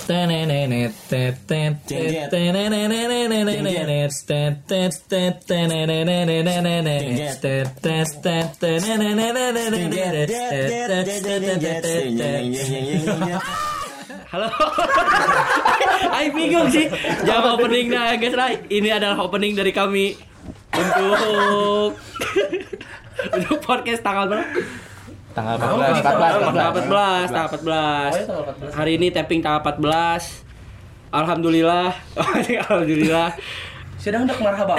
Halo. Aing bingung sih. Jawab opening nah guys, ini adalah opening dari kami untuk podcast tanggal berapa? Tanggal 14. Hari ini tapping tanggal 14. Alhamdulillah. Sedang hendak marhaba.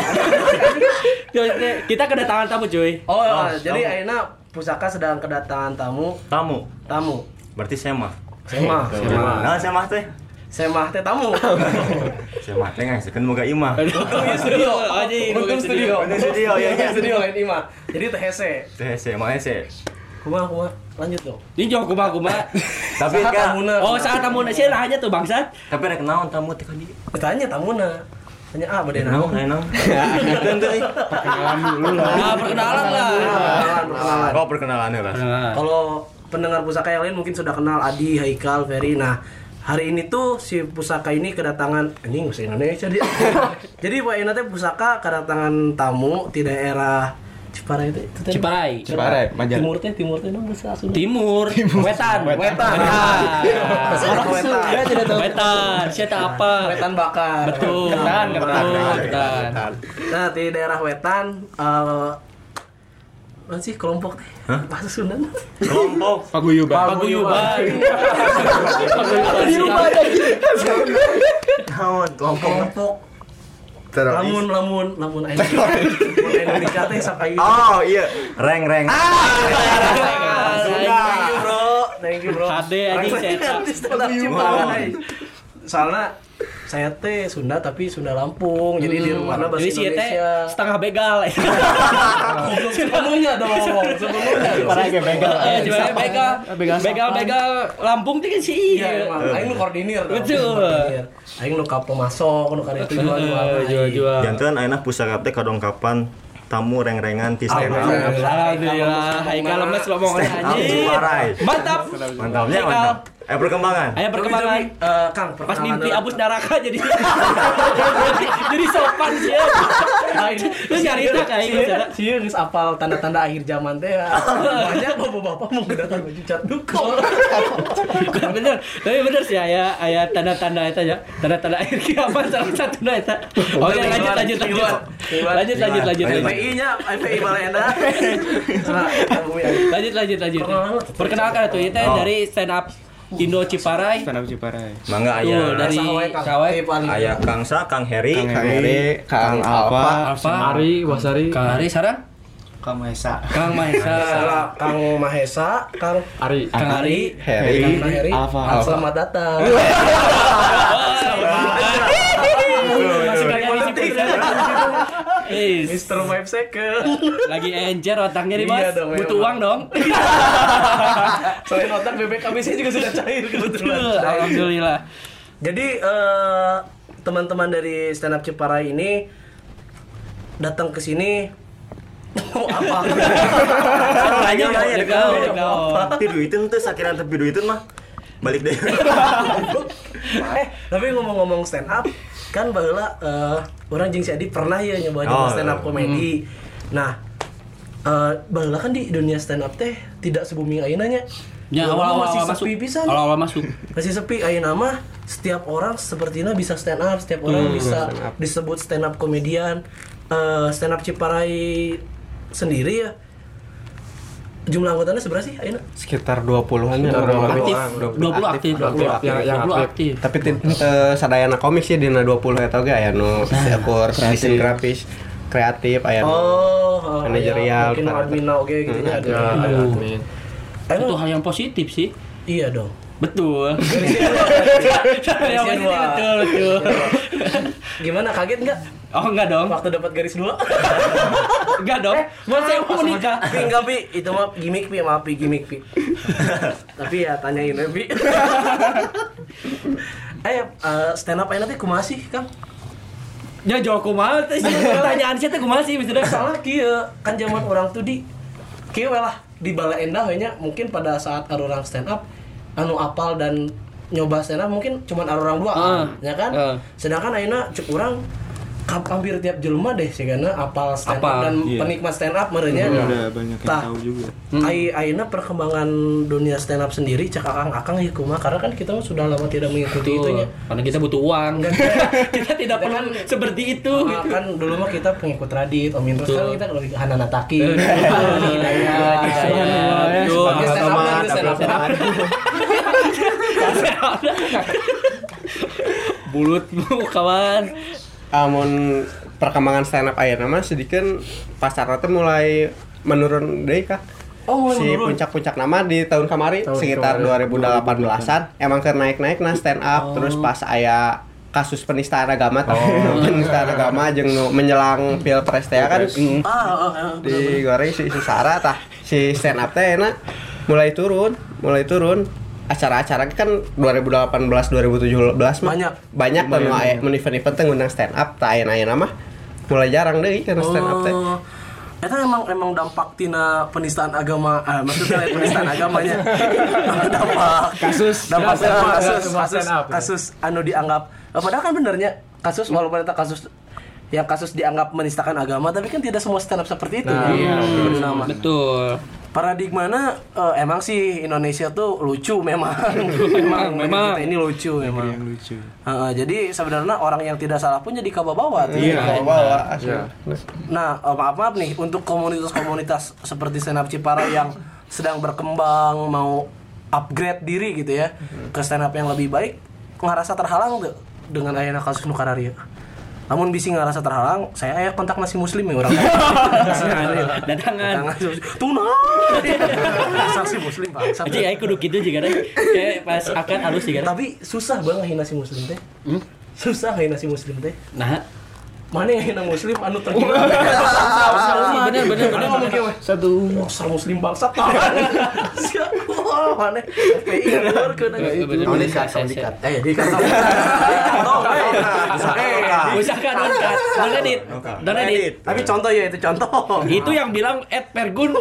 Kita kedatangan tamu, cuy. Jadi ayeuna pusaka sedang kedatangan tamu. Berarti Semah. Semah teh. Semah teh tamu. Semah teh ngasekeun boga imah. Studio. Untung studio. Studio lain imah. Jadi teh hese. Mah hese. Kumaha lanjut dong. Ini jauh kumaha. Tapi kan saat tamuna sih nanya tuh bangsat. Tapi rek naon tamu teh ka dieu? Tanya tamuna. Tanya bade naon? Perkenalan dulu lah. Perkenalan lah. Perkenalan lah. Kalau pendengar pusaka yang lain mungkin sudah kenal Adi, Haikal, Ferry. Nah, hari ini tuh si pusaka ini kedatangan anjing bahasa Indonesia dia. Jadi Pak Ina teh pusaka kedatangan tamu di daerah Ciparai itu. Ciparai, Majar. Timur teh dong bahasa Sunda. Wetan. Wetan. Siapa apa? Wetan bakar. Betul. Wetan. Nah, di daerah Wetan apa sih kelompok teh? Bahasa Sunda. Kelompok Paguyuban. Kelompok. Lamun Indonesia teh sak aya. Oh iya, reng. Thank you bro. Hade anjing saya. Soalnya saya teh Sunda tapi Sunda Lampung. Jadi di rumahna bahasa Indonesia. Indonesia. Setengah begal. Sepenuhnya dong. Parah ge begal. Begal Lampung teh kan sih. Iya, aing nu koordinir dong. Betul. Aing nu ka pemasok, nu ka itu jual-jual. Janten ayeuna pusaka teh kadongkapan tamu reng-rengan ti stand up. Alhamdulillah. Haikal lemes lo mau anjing. Mantap. Mantap. Perkembangan. Ayo perkembangan. Kang, Pas mimpi abus neraka jadi sopan sih. Terus nyarita kayak sih geus apal tanda-tanda akhir zaman teh. Banyak bapak-bapak mau kedatangan baju cat duko. Tapi bener sih aya tanda-tanda eta ya. Tanda-tanda akhir kiamat salah satuna eta. Oke, lanjut. FPI-nya, FPI Balenda. Lanjut. Perkenalkan tuh itu dari stand up Indo Ciparai. Mangga aya dari Kawai aya Kang Heri, Kang Alfa, Ari, Wasari, Kang Ari sarang Kang Mahesa, Kang Ari, Heri, Alfa. Selamat datang. Mr. 5 second. Lagi encer otaknya nih Mas. Butuh uang dong. Selain otak BBKBC juga sudah cair kebetulan. Alhamdulillah. Jadi teman-teman dari Stand Up Ciparai ini datang ke sini apa? Tanya Piduiteun teh sakiran teh piduiteun mah. Balik deh. Tapi ngomong-ngomong stand up kan baheula orang jeung si Adi pernah ya nyoba stand up komedi. Nah, baheula kan di dunia stand up teh tidak se-booming ayeuna nya. Ya awal-awal masuk. Awal-awal masuk. Masih sepi ayeuna mah setiap orang sepertinya bisa stand up, setiap orang bisa disebut stand up komedian. Stand up Ciparai sendiri ya. Jumlah anggotanya seberapa sih ayeuna? Sekitar 20-an ya. 20 aktif. Yang aktif. Tapi sadayana komik sih dina 20 eta ge aya nu akur desain grafis, kreatif aya manajerial, mungkin admin oge gitu nya ada. Itu hal yang positif sih. Iya dong. Betul. Betul. Gimana, kaget enggak? Oh enggak dong. Waktu dapat garis 2? Enggak dong. Mau saya mau menikah. Enggak, Pi. Itu mah gimmick, Pi. Maaf, Pi, gimmick, Pi. Tapi ya tanyain ya, Pi. Stand up ayeuna teh kumaha sih, Kang? Ya jawab kumaha teh pertanyaan saya teh kumaha sih misalnya soalnya kieu kan zaman orang tuh di kieu lah di Bala Endah we nya mungkin pada saat ada orang stand up anu apal dan nyoba stand up mungkin cuma orang dua ya kan. Sedangkan ayeuna cek urang hampir tiap jelema deh sih karena apal stand up dan penikmat stand up merenya. Udah banyak yang tahu juga. Ayeuna perkembangan dunia stand up sendiri cek akang ya kumaha karena kan kita sudah lama tidak mengikuti itunya. Karena kita butuh uang kan. Kita tidak perlu seperti itu. Kan dulu mah kita pengikut Radit, Om Indro kan kita lebih ke Hanana Taki. Bulutmu kawan. Amun perkembangan stand up ayeuna mah sedikeun pasarna teh mulai menurun deui Kak. Si puncak-puncak nama di tahun kemarin sekitar 2018-an emang keur naik-naik nah stand up terus pas aya kasus penistaan agama penistaan agama jeung nu menjelang pilpres teh kan digoreng si Sarah tah si stand up teh enak mulai turun acara-acara kan 2018 2017 mah banyak nu aya event-event teh ngundang stand up tah ayeuna mah mulai jarang deui kana stand up teh. Eta emang dampak tina penistaan agama, maksudnya penistaan agamanya. Kasus anu dianggap padahal kan benernya kasus walaupun eta kasus dianggap menistakan agama tapi kan tidak semua stand up seperti itu. Betul. Paradigmana emang sih Indonesia tuh lucu memang kita ini lucu memang. Jadi sebenarnya orang yang tidak salah pun jadi kababawa. Kababawa. Nah, maaf nih untuk komunitas-komunitas seperti stand up Cipara yang sedang berkembang mau upgrade diri gitu ya ke stand up yang lebih baik, ngerasa terhalang tuh dengan ayeuna kasus nu kararieu. Namun bisi ngerasa terhalang, saya aya kontak nasi muslim ya orang. Datangan. Tuna. Saksi muslim Pak. Jadi aya kudu kitu juga deh. Kayak pas akan halus juga. Tapi susah banget nasi muslim teh. Susah nasi muslim teh. Nah, mana yang hina muslim anu tergila. Bener. Ngomong kieu satu muslim bangsat. Mana FPI keurkeun. Dikat. Dikat. Usahakan donedit. Tapi contoh ya itu contoh. Itu yang bilang @pergun.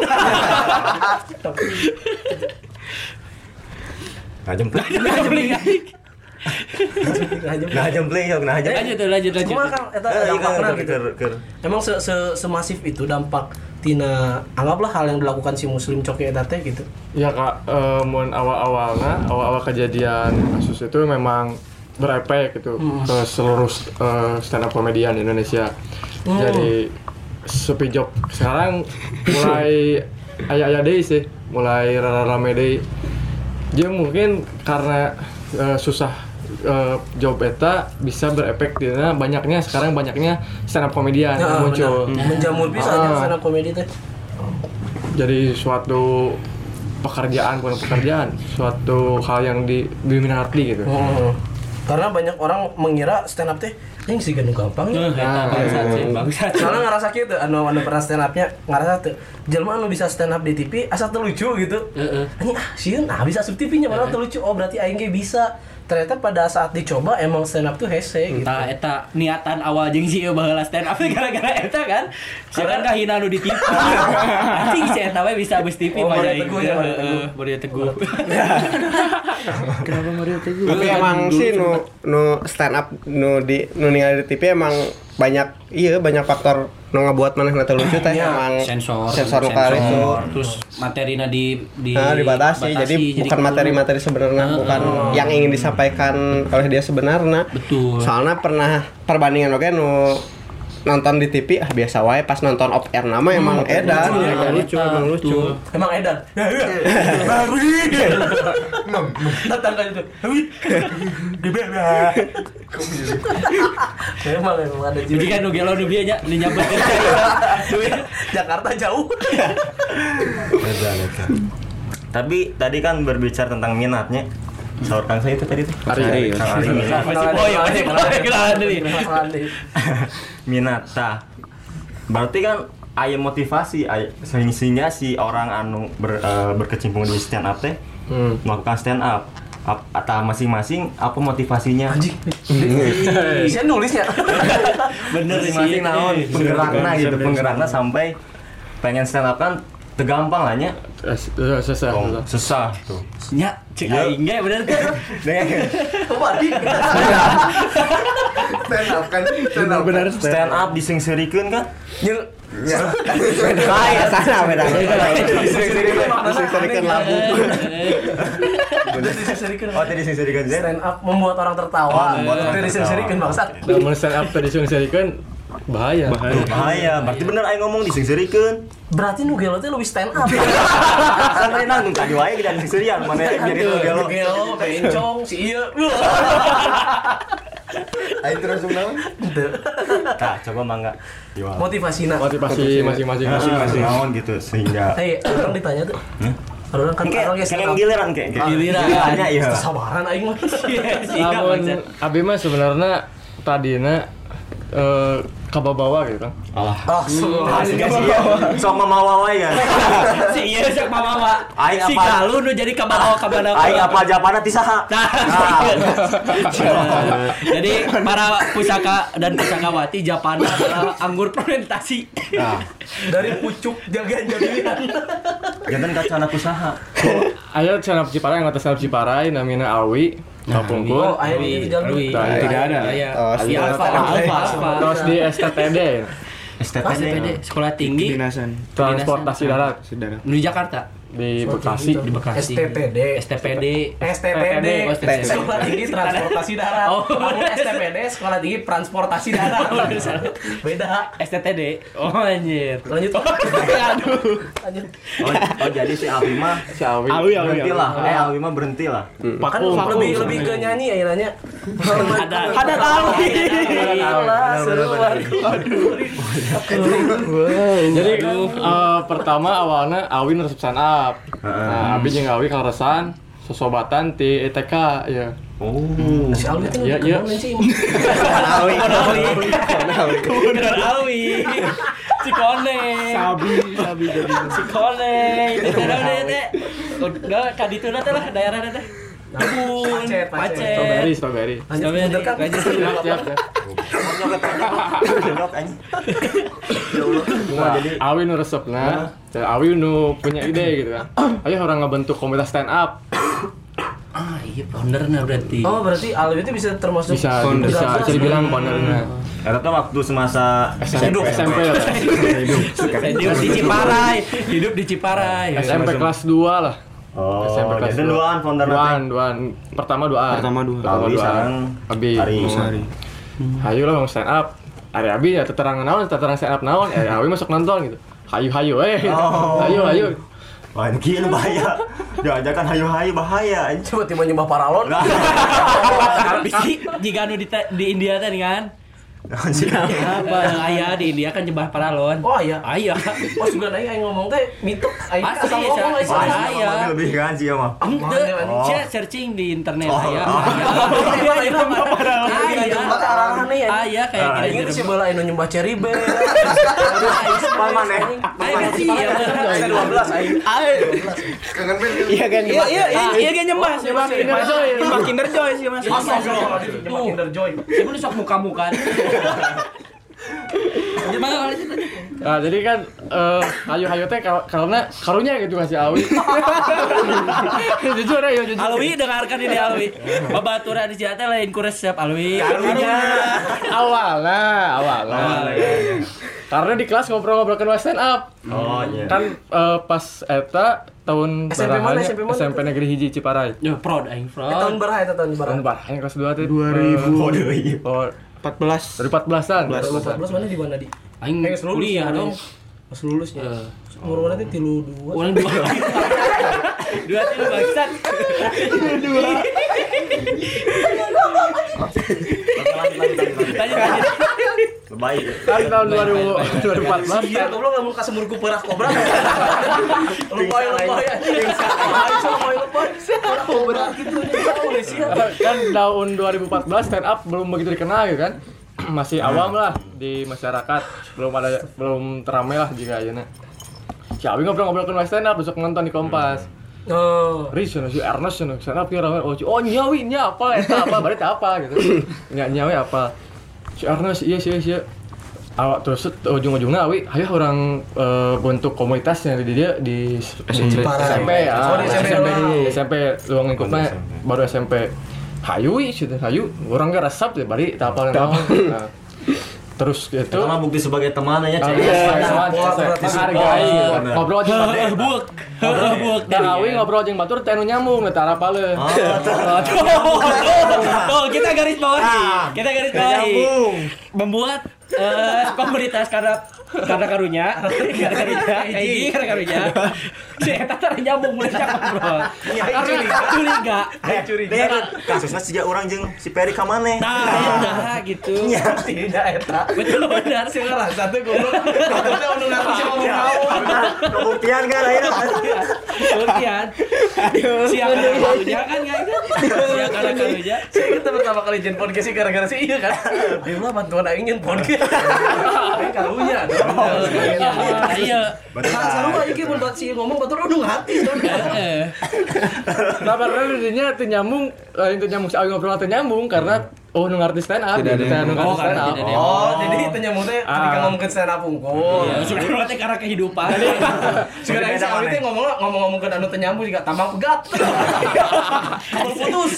Lanjut. Cuma kan eta dampakna gitu. Emang semasif itu dampak tina anggaplah hal yang dilakukan si muslim coki eta teh gitu. Ya Kak, mun awal kejadian kasus itu memang berefek gitu ke seluruh stand up komedian Indonesia. Jadi sepi job sekarang mulai aya deui sih, mulai rame deui. Jadi mungkin karena susah job eta bisa berefek dina banyaknya stand up komedian yang muncul. Menjamur bisa stand up komedi teh. Jadi suatu pekerjaan, suatu hal yang diminati gitu. Karena banyak orang mengira stand up teh yang sih ganu gampang ya. Bangsat. Soalnya ngerasa gitu, anu pernah stand upnya ngerasa tuh jelema anu bisa stand up di TV asal teu lucu gitu. Anjing sieun bisa sub TV-nya malah teu lucu. Oh berarti aing ge bisa. Ternyata pada saat dicoba emang stand up tuh hese gitu. Entah eta niatan awal jeung si baheula stand up gara-gara eta kan. Sieukan kahina nu di TV. Anjing si eta we bisa beus TV pada ieu. Mario Teguh. Kenapa Mario Teguh? Tapi emang sih nu stand up nu ningali di TV emang banyak faktor nu ngabuat manehna teu lucu teh emang sensor nu itu. Terus materina dibatasi. Jadi bukan materi sebenarnya, bukan yang ingin disampaikan oleh dia sebenarnya. Betul. Soalnya pernah perbandingan oke nu nonton di TV biasa wae pas nonton off air nama emang edan emang lucu. Emang edan. Datang kan itu. Emang ada jadi kan nu gelo nu bieu nya nyamper Jakarta jauh. Tapi tadi kan berbicara tentang minatnya. Sahur Kang saya itu tadi tuh. Ari. Minat tah. Berarti kan aya motivasi sehingga si orang anu berkecimpung di stand up teh melakukan stand up. Atau masing-masing apa motivasinya? Anjing. Saya nulisnya. Bener sih. Masing-masing naon penggerakna gitu, penggerakna sampai pengen stand up kan Tegampang lah nya. Susah tuh. Nya, cek aing ge bener kan? Benar Stand up disingserikeun kan? Kayak sana beda. Disingserikeun labu. Oh, tadi disingserikeun Zen. Stand up membuat orang tertawa. Dari disingserikeun bangsat. Namun stand up tadi disingserikeun bahaya. Berarti bener aing ngomong disingserikeun. Berarti nu gelo teh lebih stand up. Sampai nanggung tadi wae kita disingseurian mana jadi nu gelo. Gelo, bencong si ieu. Aing terus naon? Tah, coba mangga. Motivasina. Motivasi masing-masing. Naon gitu sehingga Orang ditanya tuh. Orang kan orang geus kayak giliran kayak Gilirannya iya. sabaran aing mah. Namun abi mah sebenarnya tadina kababawa gitu kan. Sok mamawa wae ya. Si ieu sok mamawa. Aing Si apa? Galuh nu jadi kabawa kabana. Aing apa japana ti saha? Jadi para pusaka dan pusakawati Japana adalah anggur fermentasi. Dari pucuk jaga-jagian. Jangan kacana usaha. Aya cenah Ciparai yang atas Ciparai namina Alwi. Kapungkur. Oh, aya di jalan. Tidak ada. Si Alfa. Terus di STPD. STPD Sekolah Tinggi Transportasi Darat di Jakarta. di Bekasi. STPD. Sekolah Tinggi Transportasi Darat. Oh. Namun STPD Sekolah Tinggi Transportasi Darat. Beda. STTD. Oh anjir. Lanjut. Lanjut. Oh jadi si Alwi mah berhenti lah. Alwi mah berhenti lah. Kan lebih ke nyanyi ya nanya. Ada Alwi. Jadi pertama awalnya Alwi resep stand up. Nah, abis jeung Alwi kaleresan sosobatan ti ETK ya. Oh. Si Alwi itu Iya. Kemudian Alwi. Si Kone. Sabi jadi si Kone. Udah kadituna teh lah daerah teh. Kebun, Pacet. Strawberry. Lanjut kan. Siap. Jadi Awi nu resepna, Awi nu punya ide gitu kan. Ayo orang ngebentuk komunitas stand up. Iya foundernya berarti. Oh, berarti Alwi itu bisa termasuk Bisa dibilang foundernya. Eta tuh waktu semasa SMP lah. Hidup di Ciparai. SMP kelas 2 lah. Oh, SMP kelas jadi duaan founder Duaan. Pertama dua. Alwi sareng Abi. Ari. Hayu lah mau stand up. Ari Abi ya teterang stand up naon. Abi masuk nonton gitu. Hayu. Hayu. Wah, ini gila bahaya. Jangan hayu-hayu bahaya. coba tiba nyembah paralon. Bisi jika anu di India tadi kan. Apa ayah di India kan nyembah paralon. Oh iya. Ayah. Pas juga aing ngomong teh mitos aing Pasti, asal ngomong pasti. ayah. Lebih kan sih ya mah. Saya searching di internet ayah. Ayah kayak Aing itu si bala anu nyembah cherry bear. Mana? Ayah sih ya. 12 aing. Kangen ben. Iya kan nyembah Kinder Joy sih Mas. Nyembah Kinder Joy. Sebelum sok muka-muka. Nah, jadi kan hayu teh karena karunya gitu masih Awi. Jujur ya, jujur. Alwi dengarkan ini Alwi. Babaturan di teh lain ku resep Alwi. Karunya awalnya. Karena di kelas ngobrol-ngobrol stand up. Oh iya. Kan pas eta tahun SMP Negeri Hiji Ciparai. Yo prod aing prod. Tahun berapa itu tahun berapa? Tahun barang kelas 2 teh 2000. Oh, 14. dari 14-an. 14 mana di mana di? Aing kuliah dong. Pas lulusnya. Umur mana teh 32. Ulang 2. 2 bangsat. 2. Lanjut. Baik. Kan tahun 2014 Iya, goblok lamun kasumurku perah kobra. Lupa ya. Perah kobra gitu. kan tahun 2014 stand up belum begitu dikenal gitu kan. Masih awam lah di masyarakat, belum teramai lah jika ayeuna. Si Awi ngobrol-ngobrol ke stand up besok nonton di Kompas. Oh. Riz si Ernest stand up kira ramai. Oh nyawi nya apa eta apa bari teh apa gitu. Nyawi apa. Si Ernest iya. awak terus ujung-ujungnya awi ayo orang bentuk komunitas yang di dia di SMP SMP luang lingkupnya baru SMP hayu gitu hayu orang gak resep deh bari tak apa naon terus gitu itu mah bukti sebagai teman aja menghargai ngobrol aja buek dan awi ngobrol aja batur teh nu nyambung eta rapale kita garis bawahi membuat komunitas karena karunya si eta teh nyambung mulai ngobrol curiga kasusnya sejak orang jeung si Peri ka maneh nah gitu tidak eta betul benar sih ngerasa tuh goblok kita udah ngaku sih ngomong kebuktian kan akhirnya kebuktian siapa karunya kan enggak itu siapa karunya saya kita pertama kali jen podcast sih gara-gara sih iya kan dia mah bantuan aing nyen podcast karunya iya sarua iki mun buat si ngomong batur udah hati nah padahal intinya teu nyambung itu nyambung si awi ngobrol teu nyambung karena nu ngarti stand up gitu nu ngarti stand up jadi itu nyambung teh ketika ngomongin stand up unggul sebenarnya teh karena kehidupan sekarang si awi teh ngomong-ngomongkeun anu teu nyambung juga tambang pegat putus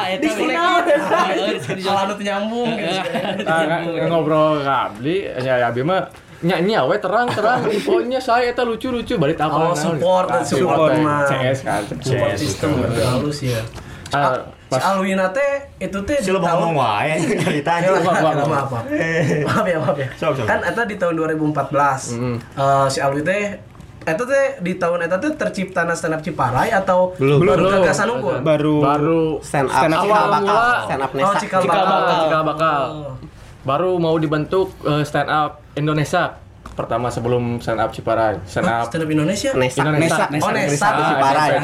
salah anu teu nyambung ngobrol kabli ya abi mah nya we terang infonya saya eta lucu balik apa support mah CS kan support sistem halus ya si Alwina teh itu teh si lo ngomong wae ceritanya maaf ya kan eta di tahun 2014 si Alwi teh eta teh di tahun eta teh tercipta stand up Ciparai atau baru gagasan unggul baru stand up cikal bakal baru mau dibentuk stand up Indonesia pertama sebelum stand up Ciparai stand up Indonesia Nesa Ciparai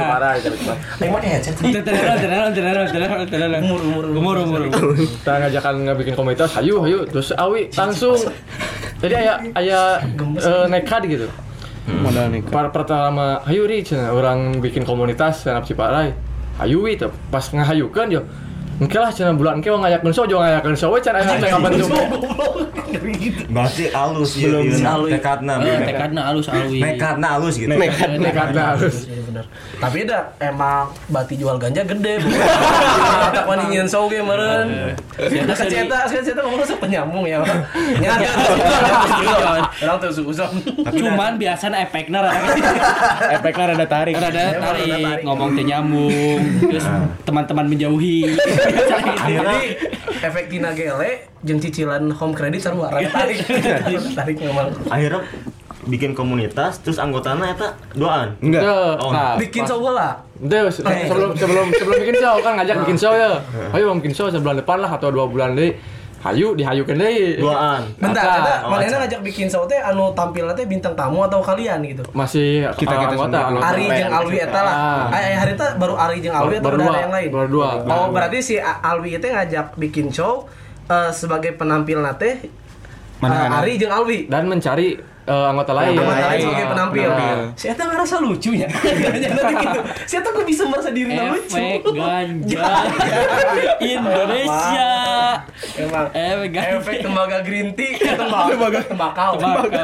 umur kita ngajakan ngebikin komunitas hayu terus awi langsung jadi aya nekat gitu modal nikah pertama hayu ri orang bikin komunitas stand up Ciparai hayu itu pas ngahayukeun yo mungkin lah cenah bulan engke ngayakeun show jo ngayakeun show we cenah aya teh kabentuk berarti alus ya tekadna alus alwi nekatna alus gitu nekatna alus bener tapi dah emang bati jual ganja gede tak wani nyeun show ge meureun saya ngomong sok penyambung ya nyata orang tuh susah cuman biasanya efeknya rada tarik ngomong teh nyambung terus teman-teman menjauhi jadi efek tina gele jeung cicilan home credit sarua tarik memang akhirnya bikin komunitas terus anggotanya eta doaan enggak bikin show lah sebelum bikin show kan ngajak bikin show ya ayo bikin show sebulan depan lah atau 2 bulan deui hayu dihayukeun deui doaan bentar manehna ngajak bikin show teh anu tampilna teh bintang tamu atau kalian gitu masih kita anggota Ari jeung Alwi eta lah hari eta baru Ari jeung Alwi atau ada yang lain baru 2 oh berarti si Alwi teh ngajak bikin show sebagai penampilna teh Ari jeung Alwi dan mencari anggota lain sebagai penampil. Si Eta ngerasa lucunya. Si Eta kok bisa merasa dirinya lucu. Efek ganja Indonesia. Emang efek tembaga green tea, tembakau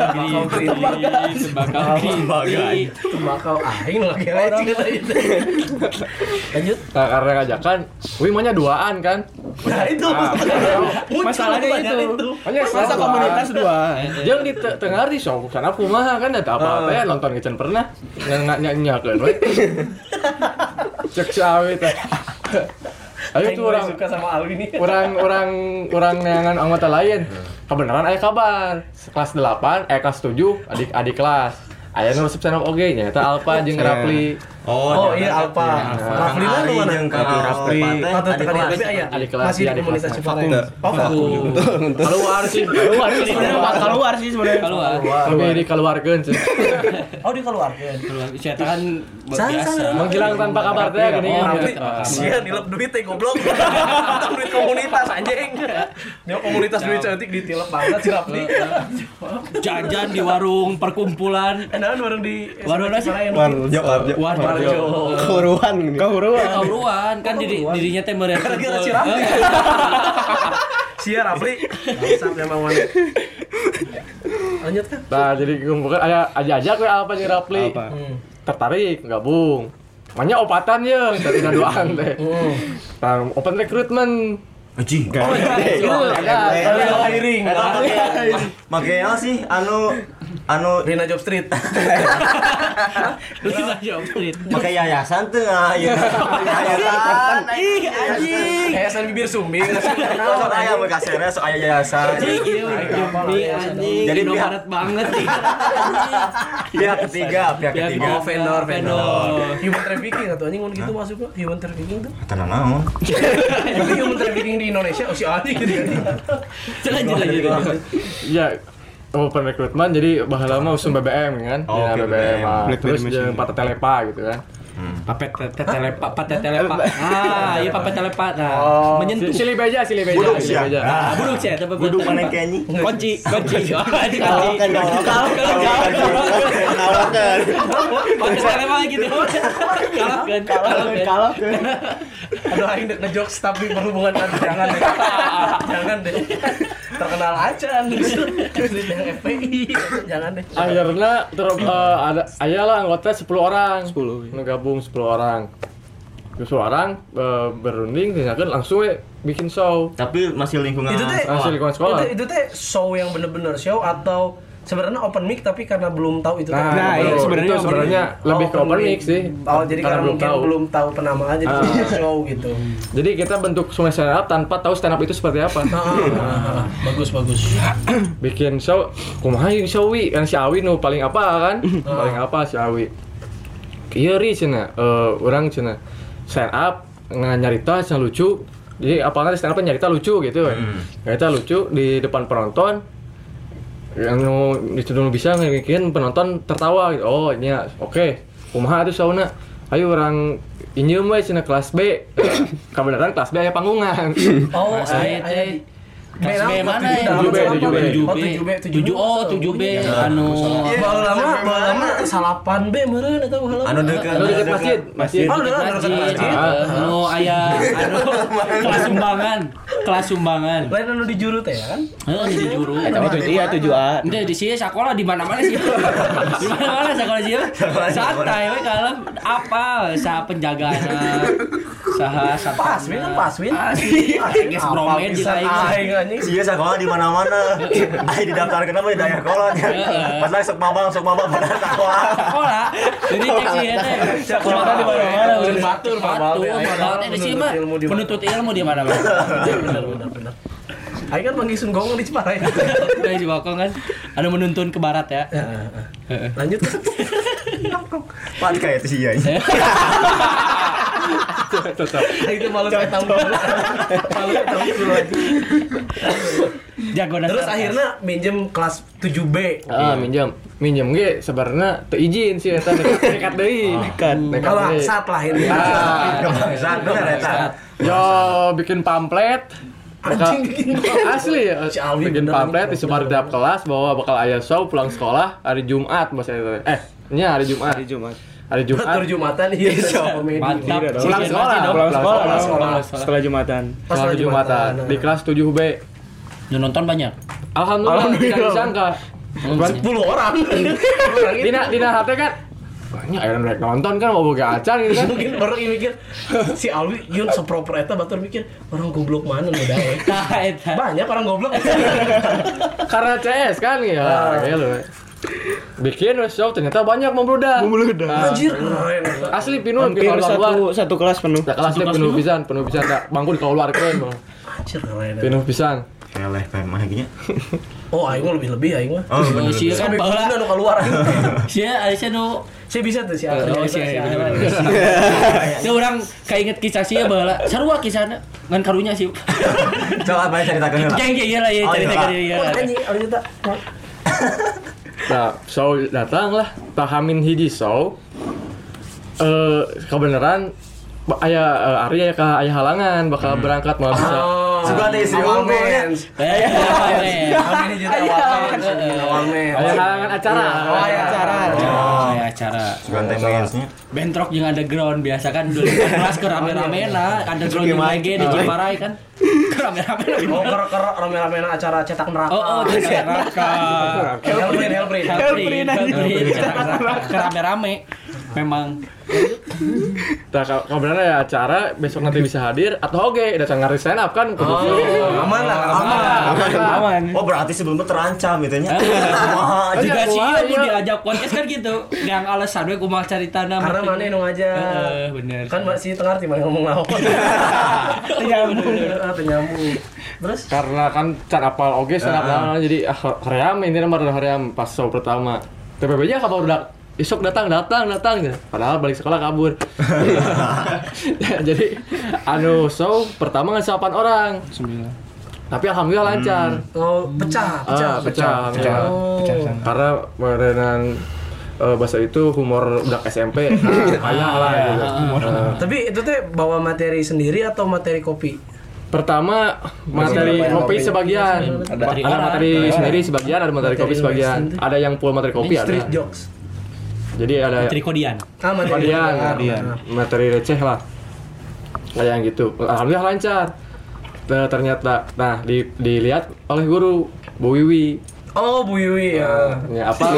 aing lagi lecet itu. Lanjut. Nah, karena ngajakan, wih maunya duaan kan. Nah itu masalahnya itu. Hanya masa komunitas dua. Jangan di tengah di show sana kumaha kan ada apa-apa ya nonton Kitchen pernah nyanyi-nyanyiakeun we. Cek sawi teh. Ayo tuh orang suka sama Alwi nih. Orang yang anggota lain. Kebenaran aya kabar. Kelas 8, kelas 7 adik kelas. Aya nu resep stand up oge nya eta Alpa jeung Rapli. Oh iya Alpa. Rapli lu mana? Rapli. Adik aya. Masih di komunitas Ciparai. Oh, keluar sih sebenarnya. Lebih dikeluarkeun sih. Oh dikeluarkeun. Saya kan biasa. Menghilang tanpa kabar teh gini. Sia dilep duit teh goblok. Duit komunitas anjing. Dia komunitas duit cantik ditilep banget si Rapli. Jajan di warung perkumpulan. Enakan warung di warung apa sih? Warjo. Kauruan kan dirinya teh meureun. Gara-gara si Rapli. Sia Rapli. Bangsat emang mana. Lanjut kan? Nah, jadi kumpulkan ajak we apa nih Rapli. Tertarik gabung. Makanya opatan ya, dari doang teh. Nah, open recruitment. Anjing. Itu ada hiring. Makanya sih anu Rina Job Street. Rina Job Street. pakai yayasan tuh yayasan. Ih, anjing. Yayasan bibir sumbing. Sok aya mun kasirnya sok aya yayasan. Anjing. Jadi Indomaret banget nih. Pihak ketiga. Oh, vendor. Human trafficking atau anjing gitu masuk kok. Human trafficking tuh. Tenan naon? Tapi human trafficking di Indonesia si anjing gitu. Lanjut. ya open recruitment jadi bahala mah usum BBM kan. Oh, Ya, oke, BBM. BBM. Terus jeung Pate Telepa gitu kan. Papet telepa. Iya papet telepa. Nah, menyentuh. Silih beja. Buduk sia. Buduk sih, tapi Buduk mana kenyi? Kunci. Anjing. Kalahkan. Papet telepa gitu. Kalahkan. Aduh aing dek ngejokes tapi berhubungan jangan deh. Terkenal aja nih. Yang FPI. Jangan deh. Akhirnya ada ayalah anggota 10 orang. 10. Ngegabung 10 orang. 10 orang berunding tindakan langsung bikin show. Tapi masih lingkungan Masih lingkungan sekolah. Itu teh show yang bener-bener show atau sebenarnya open mic tapi karena belum tahu itu Nah, itu sebenarnya lebih ke open mic sih. Oh, jadi karena mungkin belum tahu penamaan jadi show gitu. Jadi kita bentuk sungai stand up tanpa tahu stand up itu seperti apa. Bagus. Bikin show, kumaha yang show wi, kan si Awi nu paling apa kan? Paling apa si Awi. Iya ri cenah, urang cenah stand up nyarita cenah lucu. Jadi apalagi stand up nyarita lucu gitu. Nyarita lucu di depan penonton. Yang dituduh bisa bikin penonton tertawa gitu. Oh ini ya, oke. Kumaha tuh sauna. Ayo orang injem we cenah kelas B. Kebenaran kelas B aya panggungan. Oh, Saya teh kelas B mana ya? 7B. Oh, 7B. Anu Baheula salapan B meureun eta baheula. anu deket Masjid. Oh, udah dekat masjid. anu aya kelas sumbangan. Lain anu di juru teh kan? Di juru. Iya 7A. Ente di sini sekolah di mana-mana sih. Di mana-mana sekolah sih. Santai we kalem apa saha penjagaana. Saha Paswin. Geus promen di Aing anjing. Iya sekolah di mana-mana. Ai didaftarkeun mah di daerah kolot. Pas lagi sok mabang pada sekolah. Jadi cek sih teh. Sekolah di mana-mana. Batur. Di sini mah menuntut ilmu di mana-mana. Bener. Aing kan manggil Sun Gong di Ciparai. Dari Bokong kan ada menuntun ke barat ya. Lanjut. Pan kayak itu sih ya. Itu malu ketemu dulu lagi. Jago dasar. Terus akhirnya minjem kelas 7B. Minjem ge sebenarnya teu izin sih eta nekat deui. Kalau saat lah ini. Saat bener eta. Yo bikin pamflet. Anjing bikin Asli ya. Si Alwi Bikin bener pamflet anjing. disebar di tiap kelas bahwa bakal aya show pulang sekolah hari Jumat bahasa itu. Hari Jumat. Batur Jumatan iya show komedi. Mantap. Pulang sekolah. Setelah Jumatan. Setelah Jumatan di kelas 7B. Yang nonton banyak. Alhamdulillah tidak disangka. 10 orang. Dina hati kan banyak yang rek nonton kan mau boga acan gitu kan. Mungkin orang ini mikir si Alwi yun seproper eta batur mikir orang goblok mana nu dae. Banyak orang goblok. Karena CS kan ya. Kayak lu. Bikin show ternyata banyak membludak. Anjir keren. Asli pinuh Hampir satu kelas penuh. kelasnya penuh pisan tak bangku dikeluarkeun bang. Anjir keren. Penuh pisan. Keleh kayak mah gini. Oh, aing mah lebih aing mah. Oh, bener. Sia kan Sampai baheula. nu keluar. Sia aya nu Saya bisa tuh si Alwi. Dia orang kainget kisah sia baheula. Sarua kisahna ngan karunya sih. Coba bae ceritakeun heula. Jeng iya lah ya ceritakeun ieu. Oh, anjing Alwi eta. Nah, show datang lah. Tahamin hiji show. Kebenaran aya Arya aya halangan bakal berangkat mau bisa. Suka teh istri unggul ya. Amin juga awal men. Aya halangan acara. Oh, aya acara. acara. Sugan temanya. Bentrok jeung underground biasa kan 2014 ke rame-ramena underground jeung lagi di Ciparai kan. Rame-ramena. Oh, rame-ramena acara cetak neraka. Oh, cetak neraka. Hellprint. Rame-rame. Memang. Nah, kalau benar ya acara besok nanti bisa hadir atau datang ngari stand up kan. Aman. Oh, berarti sebelumnya terancam gitu nya. Juga sih aku diajak podcast kan gitu. Yang alasan we kumaha caritana karena mana nu aja. Bener. Kan masih tengah di mana ngomong naon. Nyambung. Terus karena kan can apal oge stand up jadi hoream ini nomor hoream pas show pertama. TPB-nya kabar udah besok datang gitu. Padahal balik sekolah kabur. Jadi show pertama kan 8 orang. 9. Tapi alhamdulillah lancar. Oh, pecah. Karena merenan bahasa itu humor budak SMP. Kayak lah gitu. Tapi itu teh bawa materi sendiri atau materi kopi? Pertama materi kopi sebagian. Ada materi sendiri sebagian, ada materi kopi sebagian. Ada yang full materi kopi ada. Street jokes. Jadi ada materi kodian. Materi receh lah. Kayak yang gitu. Alhamdulillah lancar. Ternyata dilihat oleh guru Bu Wiwi. Oh, Bu Wiwi ya. Ya apa?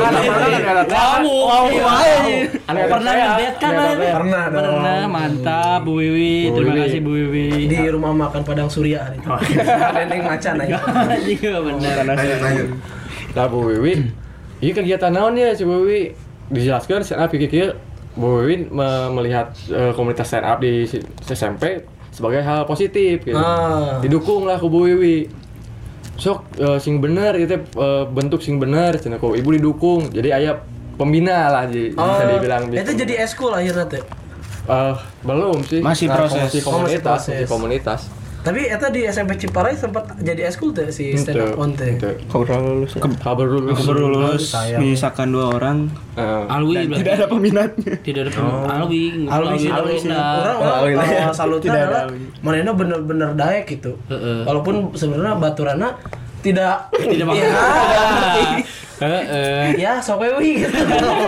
Pernah ngedet kan? Pernah, mantap Bu Wiwi. Terima kasih Bu Wiwi. Di rumah makan Padang Surya hari itu. Dendeng macan aja. Iya benar. Nah, Bu Wiwi, ini kegiatan naon ya si Bu Wiwi? Dijelaskan stand up pikir Bu Wiwi melihat komunitas stand up di SMP sebagai hal positif gitu. Didukung lah ku Bu Wiwi. Sok sing bener gitu bentuk sing bener cenah ku ibu didukung. Jadi aya pembina lah bisa dibilang gitu. Itu jadi eskul akhirnya teh. Belum sih. Masih proses. Masih komunitas. Tapi eta di SMP Ciparai sempat jadi eskul teh si stand up on teh. Kabar lulus. Misalkan 2 orang. Alwi tidak ada peminatnya. Tidak ada peminat. Alwi. Orang salutnya adalah manehna bener-bener daek gitu. Walaupun sebenarnya baturana tidak ya sok we gitu.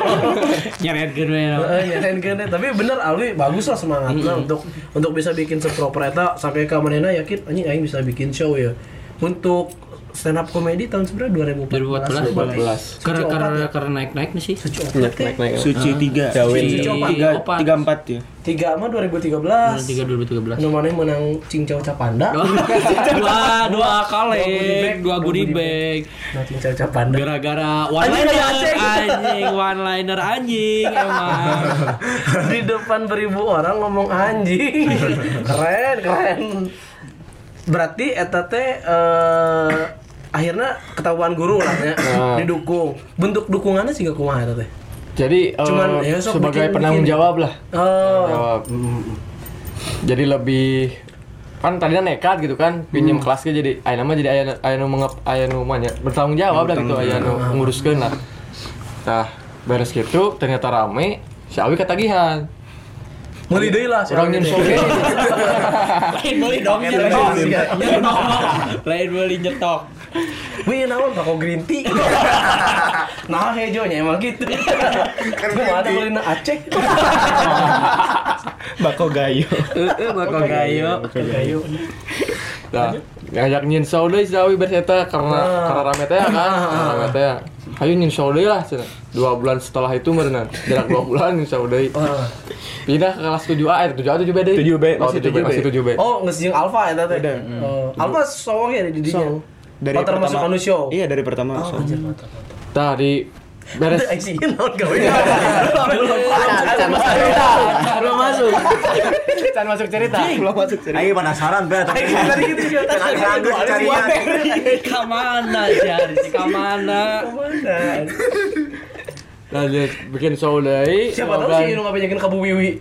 Nyaretkeun tapi bener Alwi bagus lah semangatnya untuk bisa bikin seproper eta sampai ka manehna yakin anjing aing bisa bikin show ya. Untuk stand up comedy tahun sebenarnya 2014. Karena naik sih. Naik. Suci 3. Jawin 34 ya. 3 mah 2013. 2013. Nu maneh menang Cingcau Capanda. Dua kali, 2 goodie bag. Nah, Cingcau Capanda. Gara-gara one liner anjing emang. Di depan beribu orang ngomong anjing. Keren. Berarti eta teh akhirnya ketahuan guru lah ya, didukung. Bentuk dukungannya sih gak kumaha eta teh. Jadi cuman sebagai penanggung jawab lah. Jawab. Jadi lebih kan tadinya nekat gitu kan, pinjam kelasnya jadi aya nu bertanggung jawab lah gitu, aya nu nguruskeun lah. Nah, beres gitu ternyata rame, si Awi ketagihan. Meuli deui lah urang nyen soge. Lain meuli dong lain meuli nyetok. Wih, naon bako green tea. Nah, hejonya emang gitu. Kan ada meulina Aceh. Bako gayo. Bako gayo. Nah, ngajak nyen show deui si Awi beres eta karena rame teh kan. Rame teh. Hayu nyen show deui lah cenah. 2 bulan setelah itu meureunna. Jarak 2 bulan nyen show deui. Pindah ke kelas 7A, 7A 7B deh. 7B. Oh, geus jeung Alfa eta teh. Alfa show ge di dinya. Dari termasuk anu show. Iya, dari pertama show. Tadi beres. Belum masuk. Can masuk cerita. Ayo penasaran be tadi gitu juga. Kamana? Lanjut bikin show deui. Siapa tahu sih nu ngabenyakeun ka Bu Wiwi.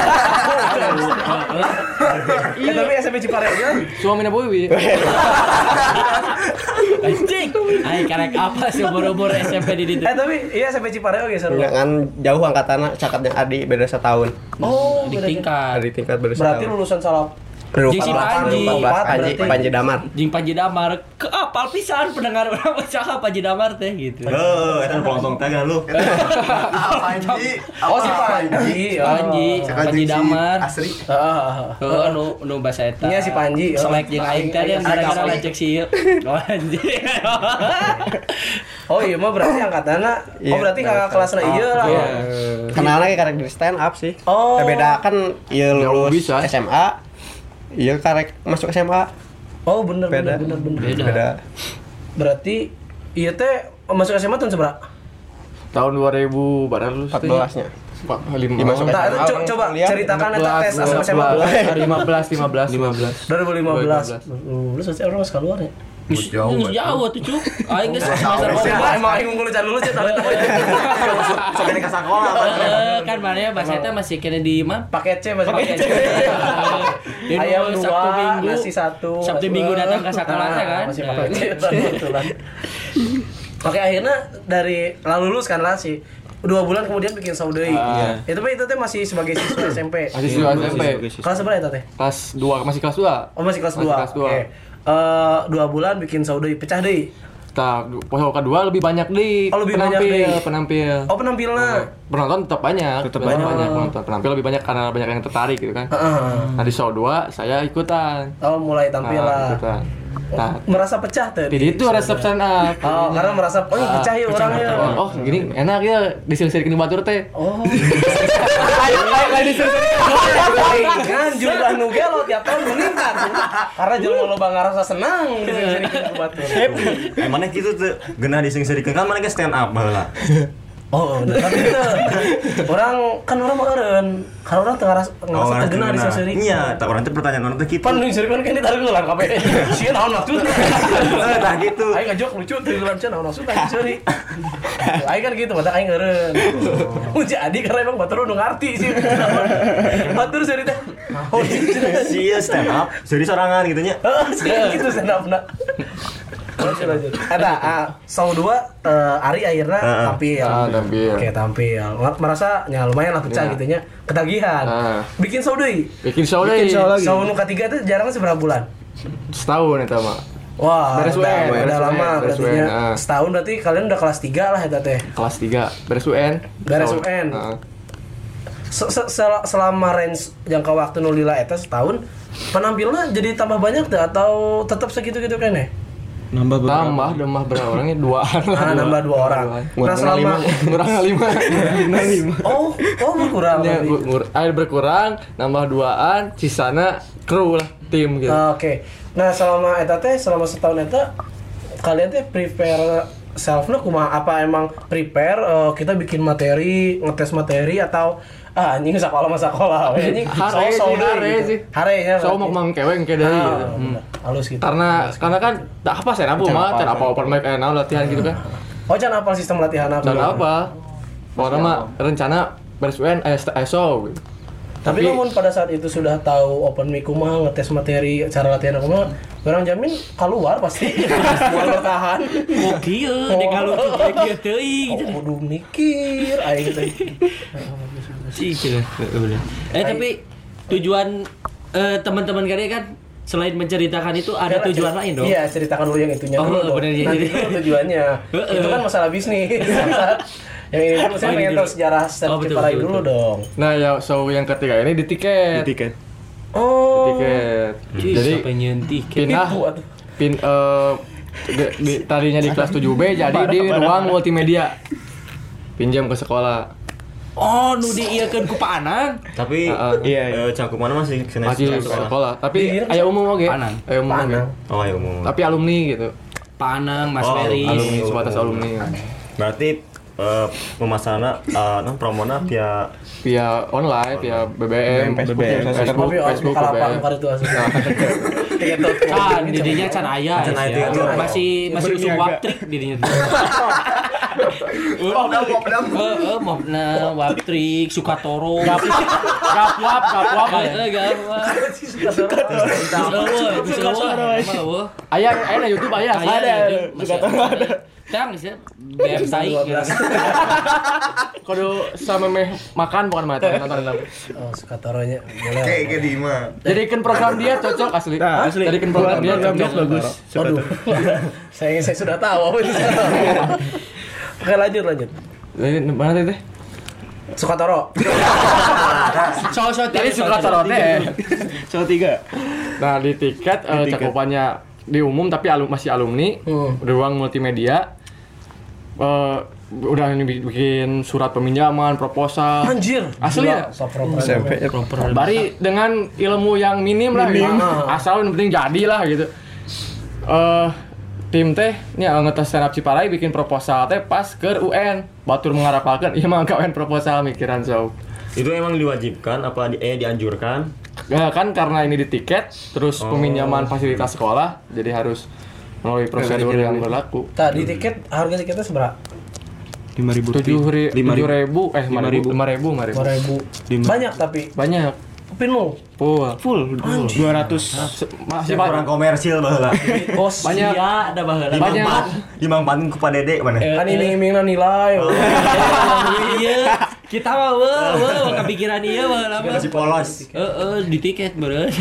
Iya, tapi SMP Ciparai kan. Suamina Bu Wiwi. Anjing. Ai karek apa sih umur SMP di ditu? Tapi iya SMP Ciparai oge seru. Kan jauh angkatanna cakapnya Adi beda setahun. Oh, di tingkat beda setahun. Berarti lulusan salah Jeung si Panji. Panji Damar. Jeung Panji Damar. Keapal pisan pendengar urang saha Panji Damar teh gitu. Eta pelontong teh kan lu. Panji. Oh si Panji. Panji Damar. Asri. Heeh nu basa eta. Nya si Panji. Selek jeung aing teh yang gara-gara lecek si ieu. Anjing. Oh iya mah berarti angkatanna. Oh berarti kakak kelasna ieu lah. Kenalna ge karek di stand up sih. Oh. Beda kan ieu lulus SMA. Iya karek masuk SMA. Oh bener. Beda. Berarti iya teh masuk SMA tahun seberapa? Tahun 2000 berapa lulus? 14-nya. 5 Masuk Coba ceritakan eta tes asal SMA. 15. 2015. Lu sosial orang masih keluar ya? Jauh tuh cuk. Aing geus semester Emang aing unggul can lulus ya tadi. Sampai di sekolah. kan mana bahasa eta masih kena di mana? Paket C masih paket C. Ayam 2, nasi 1. Sabtu Minggu datang ke sekolah kan. Masih paket C kebetulan. Oke, akhirnya dari lalu lulus kan lah sih. 2 bulan kemudian bikin saudari. Itu teh masih sebagai siswa SMP. Masih siswa SMP. Kelas berapa eta teh? Kelas 2, masih kelas 2. Oh, masih kelas 2. Oke. 2 bulan bikin saudari, pecah deui. Nah, pos kedua lebih banyak di penampil. Oh, penampilnya. Penonton tetap banyak penonton. Penampil lebih banyak karena banyak yang tertarik gitu kan. Nah, di show 2 saya ikutan. Oh, mulai tampil lah. Ikutan. Nah, merasa pecah tuh. jadi itu resep stand up. Oh, karena merasa pecah ya orangnya. Oh, gini enak ya disirik-sirikin batur teh. Oh. Lain disirik-sirikin. Kan jumlah nu ge lo tiap tahun meningkat. Karena jelema loba ngarasa senang disirik-sirikin batur. Emangnya gitu tuh geunah dising-sirikeun kan mana ge stand up baheula. Oh, tapi itu orang mah eureun. Kalau orang teu ngarasa tegeuna disering. Iya, tak orang teh pertanyaan orang teh kitu. Pan disering kan ditarik ulang kabeh. Sieun naon maksudna? Tah gitu. Aing ngajok lucu teu ulang cenah naon maksudna disering. Aing kan gitu, mata aing eureun. Jadi karena emang batur nu ngarti sih. Batur seri teh. Oh, sia stand up, seri sorangan gitu nya. Heeh, gitu stand up-na. Lanjut. Show 2 Ari akhirnya tampil. Oke, tampil. Merasa lumayan lah pecah gitu nya. Ketagihan. Bikin show deui. Bikin show lagi. Show nu ketiga itu jarang seberapa bulan? Setahun eta mah. Wah, udah lama berarti nya. Setahun berarti kalian udah kelas 3 lah eta teh. Kelas 3. Beres UN. Selama range jangka waktu nu lila eta setahun, penampilannya jadi tambah banyak tuh atau tetap segitu-gitu kan ya? Nambah berapa orangnya? 2an. Nambah 2 orang. Nah, selama kurang 5. Oh, berkurang. Berkurang, nambah 2an, sisana kru lah, tim gitu. Oke. Nah, selama setahun eta kalian teh prepare self-nya kumaha? Apa emang prepare kita bikin materi, ngetes materi atau anjing sekolah anjing harenya so mau mangkeweng kayak dari gitu. Halus gitu. Karena kan tak apa saya apa open mic latihan gitu kan. Oh, jangan apa sistem latihan apa? Jangan apa. Pokoknya mah rencana beres UN show gitu. Tapi namun pada saat itu sudah tahu open mic kumaha, ngetes materi, cara latihan kumaha, orang jamin keluar pasti. Buat bertahan. Oh kieu, dek kalau kieu teuing gitu. Kudu mikir aing teh. Tapi tujuan teman-teman kalian kan selain menceritakan itu ada tujuan lain dong. Iya, ceritakan dulu yang itunya dulu. Bener, nanti itu tujuannya. Itu kan masalah bisnis. Yang ini dulu saya pengen tahu sejarah stand Ciparai dulu dong. Nah, ya show yang ketiga ini di tiket. Oh. Di tiket. Jadi pengen tiket. Tadinya di kelas 7B jadi di ruang multimedia. Pinjam ke sekolah. Oh, nu diieukeun ku Pak Anang. Tapi cakupanna masih sekolah. Tapi aya umum oge. Aya umum oge. Oh, aya umum. Tapi alumni gitu. Pak Anang, Mas Ferry, alumni sebatas alumni. Berarti pemasaran promona via online, via BBM, Facebook, kan didinya can aya. Masih usung waktrik didinya. Mobna Waptrik, Sukatoro. Gapuap. Aya na YouTube aya. Ada. Tang sih, website. Kudu samemeh makan bukan mata nonton. Oh, Sukatoronya boleh. Kayak di mah. Jadikan program dia cocok asli. Jadikan program dia cocok bagus. Aduh. saya sudah tahu apa itu. Oke, lanjut. Mana teh? Sukatoro. Tadi Sukatoro teh. Cowok 3. Nah, di tiket cakupannya di umum tapi masih alumni, ruang multimedia. Udah bikin surat peminjaman, proposal. Anjir. Asli ya? SMP Bari dengan ilmu yang minim lah. Asal yang penting jadi lah gitu. Tim teh nya ngetes stand up Ciparai bikin proposal teh pas ke UN. Batur mengharapkan ieu mah gawean proposal mikiran so. Itu emang diwajibkan apa dianjurkan? Ya kan karena ini di tiket terus peminjaman fasilitas sekolah jadi harus melalui prosedur yang berlaku. Tadi tiket harga tiketnya seberapa? 5.000. 5.000 Banyak tapi banyak. penuh. Full 200. Masih Kurang komersil baheula. Bos banyak. Iya, ada baheula. Banyak. Dimangpatin ku Pak Dede mana? kan iming-imingna nilai. Iya. Kita mah kepikiran ieu baheula mah. Masih polos. Di tiket beureun.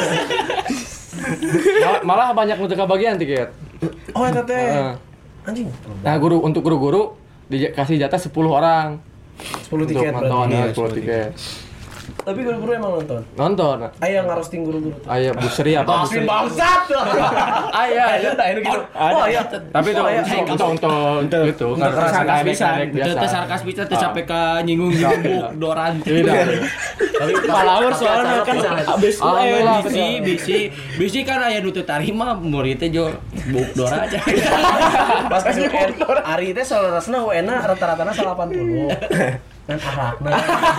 Malah banyak untuk kebagian tiket. Oh, eta teh. Anjing. Nah, untuk guru-guru dikasih jatah 10 orang. 10 tiket berarti. berarti. 10 tiket. Tapi guru-guru emang nonton. Nonton. Aya ngarosting guru-guru. Aya buseri apa buseri. Bangsat. Aya. Gitu. Oh, iya. Tapi itu untuk gitu. sarkas pisan. Teu sarkas pisan teu sampai ka nyinggung-nyinggung doran. Tapi palawur soalnya kan abis bisi kan aya nu teu tarima murid teh jo buk dora aja. Pas ke UN, Ari teh salarasna UN-na rata-ratana 80. Dan arakna.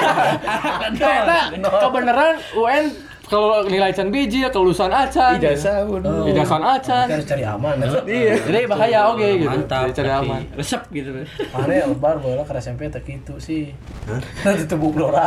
Kebenaran UN kalau nilai can biji kelulusan acan. Ijazah acan. Harus cari aman. Iya. Jadi bahaya oke gitu. Mantap. Cari aman. Resep gitu. Mane lebar bola ke SMP teh kitu sih. Nanti tebuk Dora.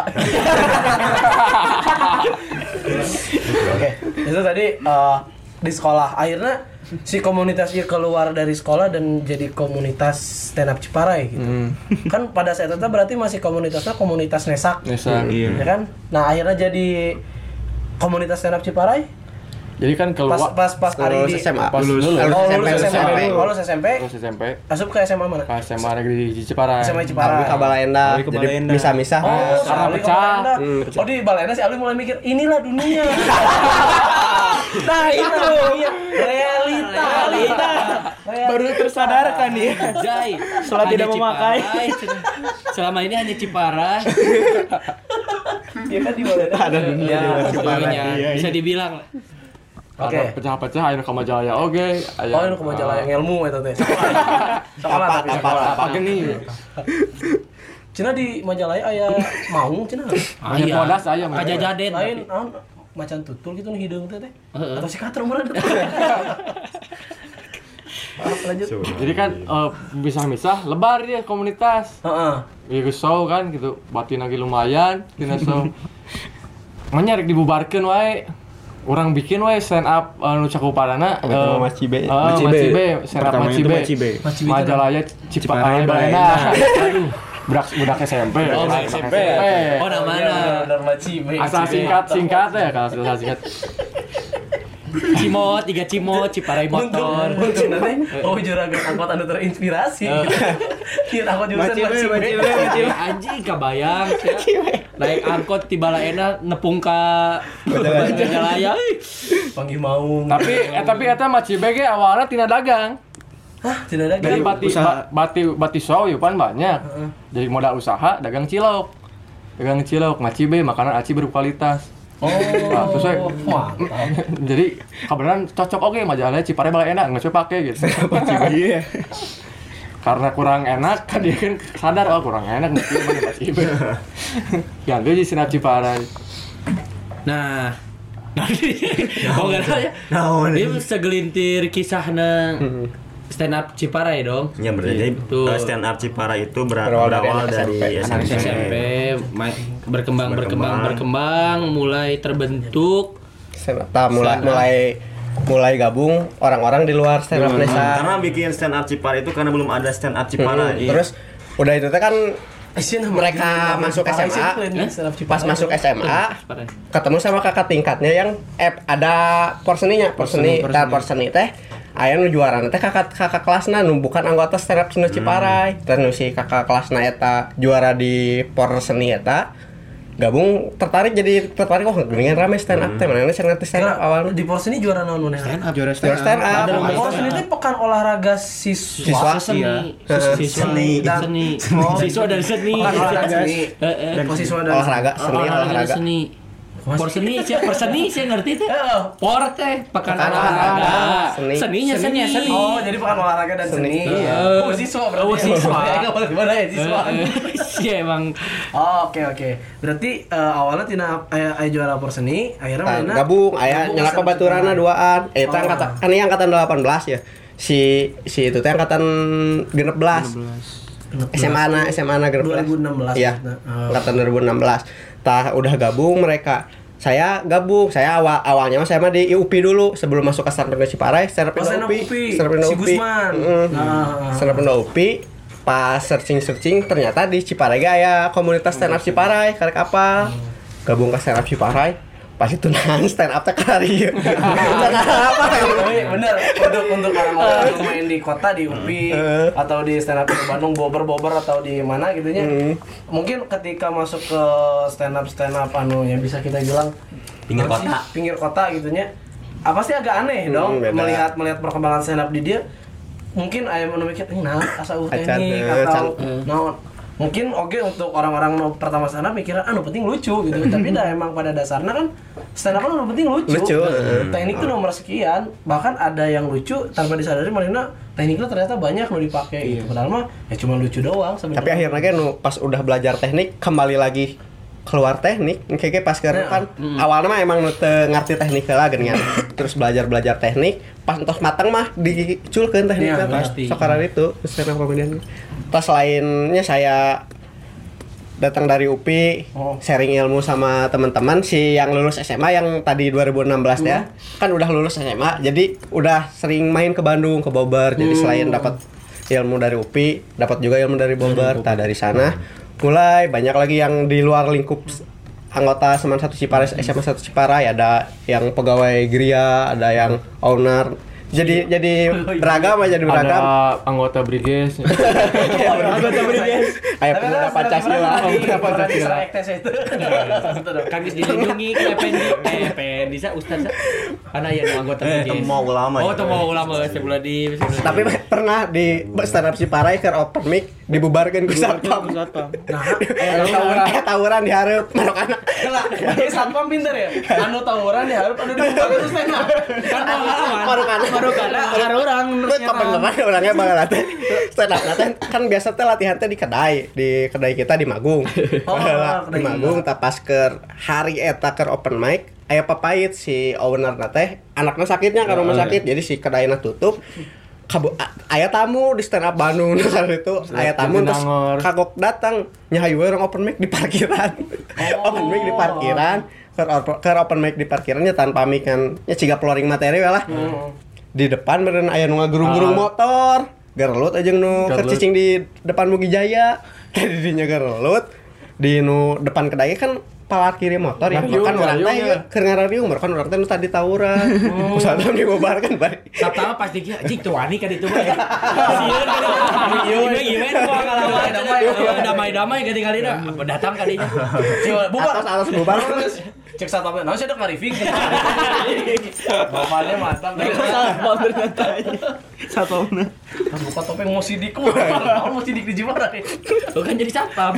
Oke, itu tadi di sekolah akhirnya si komunitasnya keluar dari sekolah dan jadi komunitas stand up Ciparai gitu. Kan pada saat itu berarti masih komunitasnya komunitas Nesak. Iya. Ya kan? Nah, akhirnya jadi komunitas stand up Ciparai. Jadi kan keluar Pas Ari di SMA. lulus SMP. Lulus SMP. SMP. Asup ke SMA mana? Ke SMA negeri di Ciparai. SMA Ciparai. Abi ka Balaenda. Jadi misah-misah. Oh, karena Alwi pecah. ke Balenda. Oh, di Balenda si Alwi mulai mikir, inilah dunia. Nah, itu realita. baru tersadarkan dia. Jai. Setelah tidak memakai. Selama ini hanya Ciparai. Dia kan di Balenda. Ada dunia di luar Ciparai. Bisa dibilang lah. Oke. Pecah-pecah ayeuna ka Majalaya oge. Oh, ini ke Majalah yang ilmu eta teh. Sekolah tapi sekolah. Apa gini? Cina di Majalaya aya maung cenah. Aya podas aya mah. Aja jaden. Lain macan tutul gitu nih hidung teh. Atau si kater mana? Lanjut. Jadi kan misah-misah lebar dia komunitas. Heeh. Ieu show kan gitu. Batin lagi lumayan, tina show. Manya rek dibubarkeun wae. Urang bikin wae stand up nu cakupanana Macibe. Macibe, stand up Macibe. Majalaya Ciparai Balenda. Aduh. Budak SMP. Oh, SMP. Oh, namanya. Benar Macibe. Asal singkat ya kalau asal singkat. Cimot, 3 Cimot, Ciparai motor. Cina teh, juragan angkot anu terinspirasi. Kieu angkot jurusan Macibe. Anjing kabayang. Naik angkot ti Balaena nepung ka Majalaya. Panggih maung. Tapi eta Macibe ge awalna tina dagang. Hah, tidak ada. Jadi bati show ya pan banyak. Jadi modal usaha dagang cilok. Macibe makanan aci berkualitas. Oh, nah, terus mantap. Jadi kebenaran cocok oke Majalaya Ciparai Balenda nggak coba pakai gitu. Iya. Karena kurang enak kan dia kan sadar kurang enak mungkin mana Macibe. Ganti di stand up Ciparai. Nah, enggak tahu ya. Ini segelintir kisahna stand up Ciparai dong. Ya berarti stand up Ciparai itu berawal dari SMP berkembang mulai terbentuk mulai gabung orang-orang di luar stand up desa. Karena bikin stand up Ciparai itu karena belum ada stand up Ciparai. Terus udah itu kan mereka masuk SMA, pas masuk SMA ketemu sama kakak tingkatnya yang ada porseni teh aya nu juarana teh kakak kelasna nu bukan anggota stand up Ciparai. Terus si kakak kelasna eta juara di porseni eta gabung tertarik oh geuningan rame stand up teh mana stand up awalnya di porseni juara naon mana stand up porseni teh pekan olahraga siswa seni siswa dari seni olahraga seni Porseni saya ngerti teh. Por teh pekan olahraga. Seninya seni. Oh, jadi pekan olahraga dan seni. Oh, siswa berarti. Gimana ya siswa? Iya emang. Oh, oke. Berarti awalnya tina aya juara Porseni, akhirnya mana? Gabung aya nyala pabaturanna duaan. Eta kan ini angkatan 18 ya. Si itu teh angkatan 16. SMA na 2016. Iya. Angkatan 2016. Udah gabung mereka. Saya awalnya saya mah di UPI dulu sebelum masuk ke stand up Ciparai, stand up UPI. Si Gusman. Stand up UPI. Pas searching ternyata di Ciparai aya komunitas stand up Ciparai, karek apa? Gabung ke stand up Ciparai. Pas itu stand up teh kari. Apa bener untuk orang-orang yang main di kota di UPI atau di stand up di Bandung Bogor atau di mana gitu nya. Mungkin ketika masuk ke stand up yang bisa kita bilang pinggir kota gitu nya. Apa sih agak aneh dong melihat perkembangan stand up di dia. Mungkin aya nu mikir asa teknik atau naon. Mungkin untuk orang-orang pertama stand up mikirnya penting lucu gitu. Tapi emang pada dasarnya kan stand up kan penting lucu. Teknik itu nomor sekian. Bahkan ada yang lucu tanpa disadari malah tekniknya ternyata banyak lo dipakai gitu. Padahal mah cuma lucu doang sebenarnya. Tapi akhirnya kan pas udah belajar teknik kembali lagi keluar teknik kayak pas kan awalnya mah emang ngerti teknik lah geuningan. Terus belajar teknik pas entos matang mah diculkeun tekniknya pasti. Sekarang itu stand up comedian. Pas lainnya saya datang dari UPI, sharing ilmu sama teman-teman yang lulus SMA yang tadi 2016 ya. Kan udah lulus SMA, jadi udah sering main ke Bandung, ke Bogor. Jadi selain dapat ilmu dari UPI, dapat juga ilmu dari Bogor. Dari sana mulai banyak lagi yang di luar lingkup anggota Seman 1 Ciparai, SMA 1 Ciparai, ada yang pegawai Gria, ada yang owner. Jadi beragam. Ada anggota Briges. Anggota Briges. Aya pemuda Pancasila. itu. Kami dilindungi PND Ustaz. Karena yang anggota Briges. Temu ulama. Temu ulama sebelah di. Tapi pernah di stand up Ciparai ke open mic dibubarkeun ku satpam. Tawuran di hareup manok anak. Satpam pinter ya. Anu tawuran di hareup anu dibubarkeun ku stand up. Kan Ada orang beneran orangnya banget stand up kan biasa teh latihan teh di kedai kita di Magung. Di Magung pas ke hari eta ke open mic aya papait si owner teh anaknya sakitnya ke rumah sakit jadi si kedaina tutup. Aya tamu di stand up Bandung itu aya tamu terus kagok datang nyahayu orang open mic di parkiran. Open mic di parkiran ke open mic di parkirannya tanpa mic kan nya ciga flooring materi lah. Di depan beren aya nu ngagerung-gerung motor. Gerelut aja nu kecicing di depan Mugi Jaya. Tadi dinya gerelut di nu depan kedai kan parkir motor ya. Kan urang teh keur ngarariung kan urang teh nu tadi tawuran. Usaha dibubarkan bari. Pertama pasti kieu anjing teu wani ka ditu mah. Sieun kan. Ieu damai-damai kali-kalina datang ka dinya. Bubar atas bubar. Cek satpamnya, nah saya udah nge-review bapaknya mantap Satpam ternyata satpamnya pas buka topeng mau sidik mau sidik di Ciparai kan jadi satpam.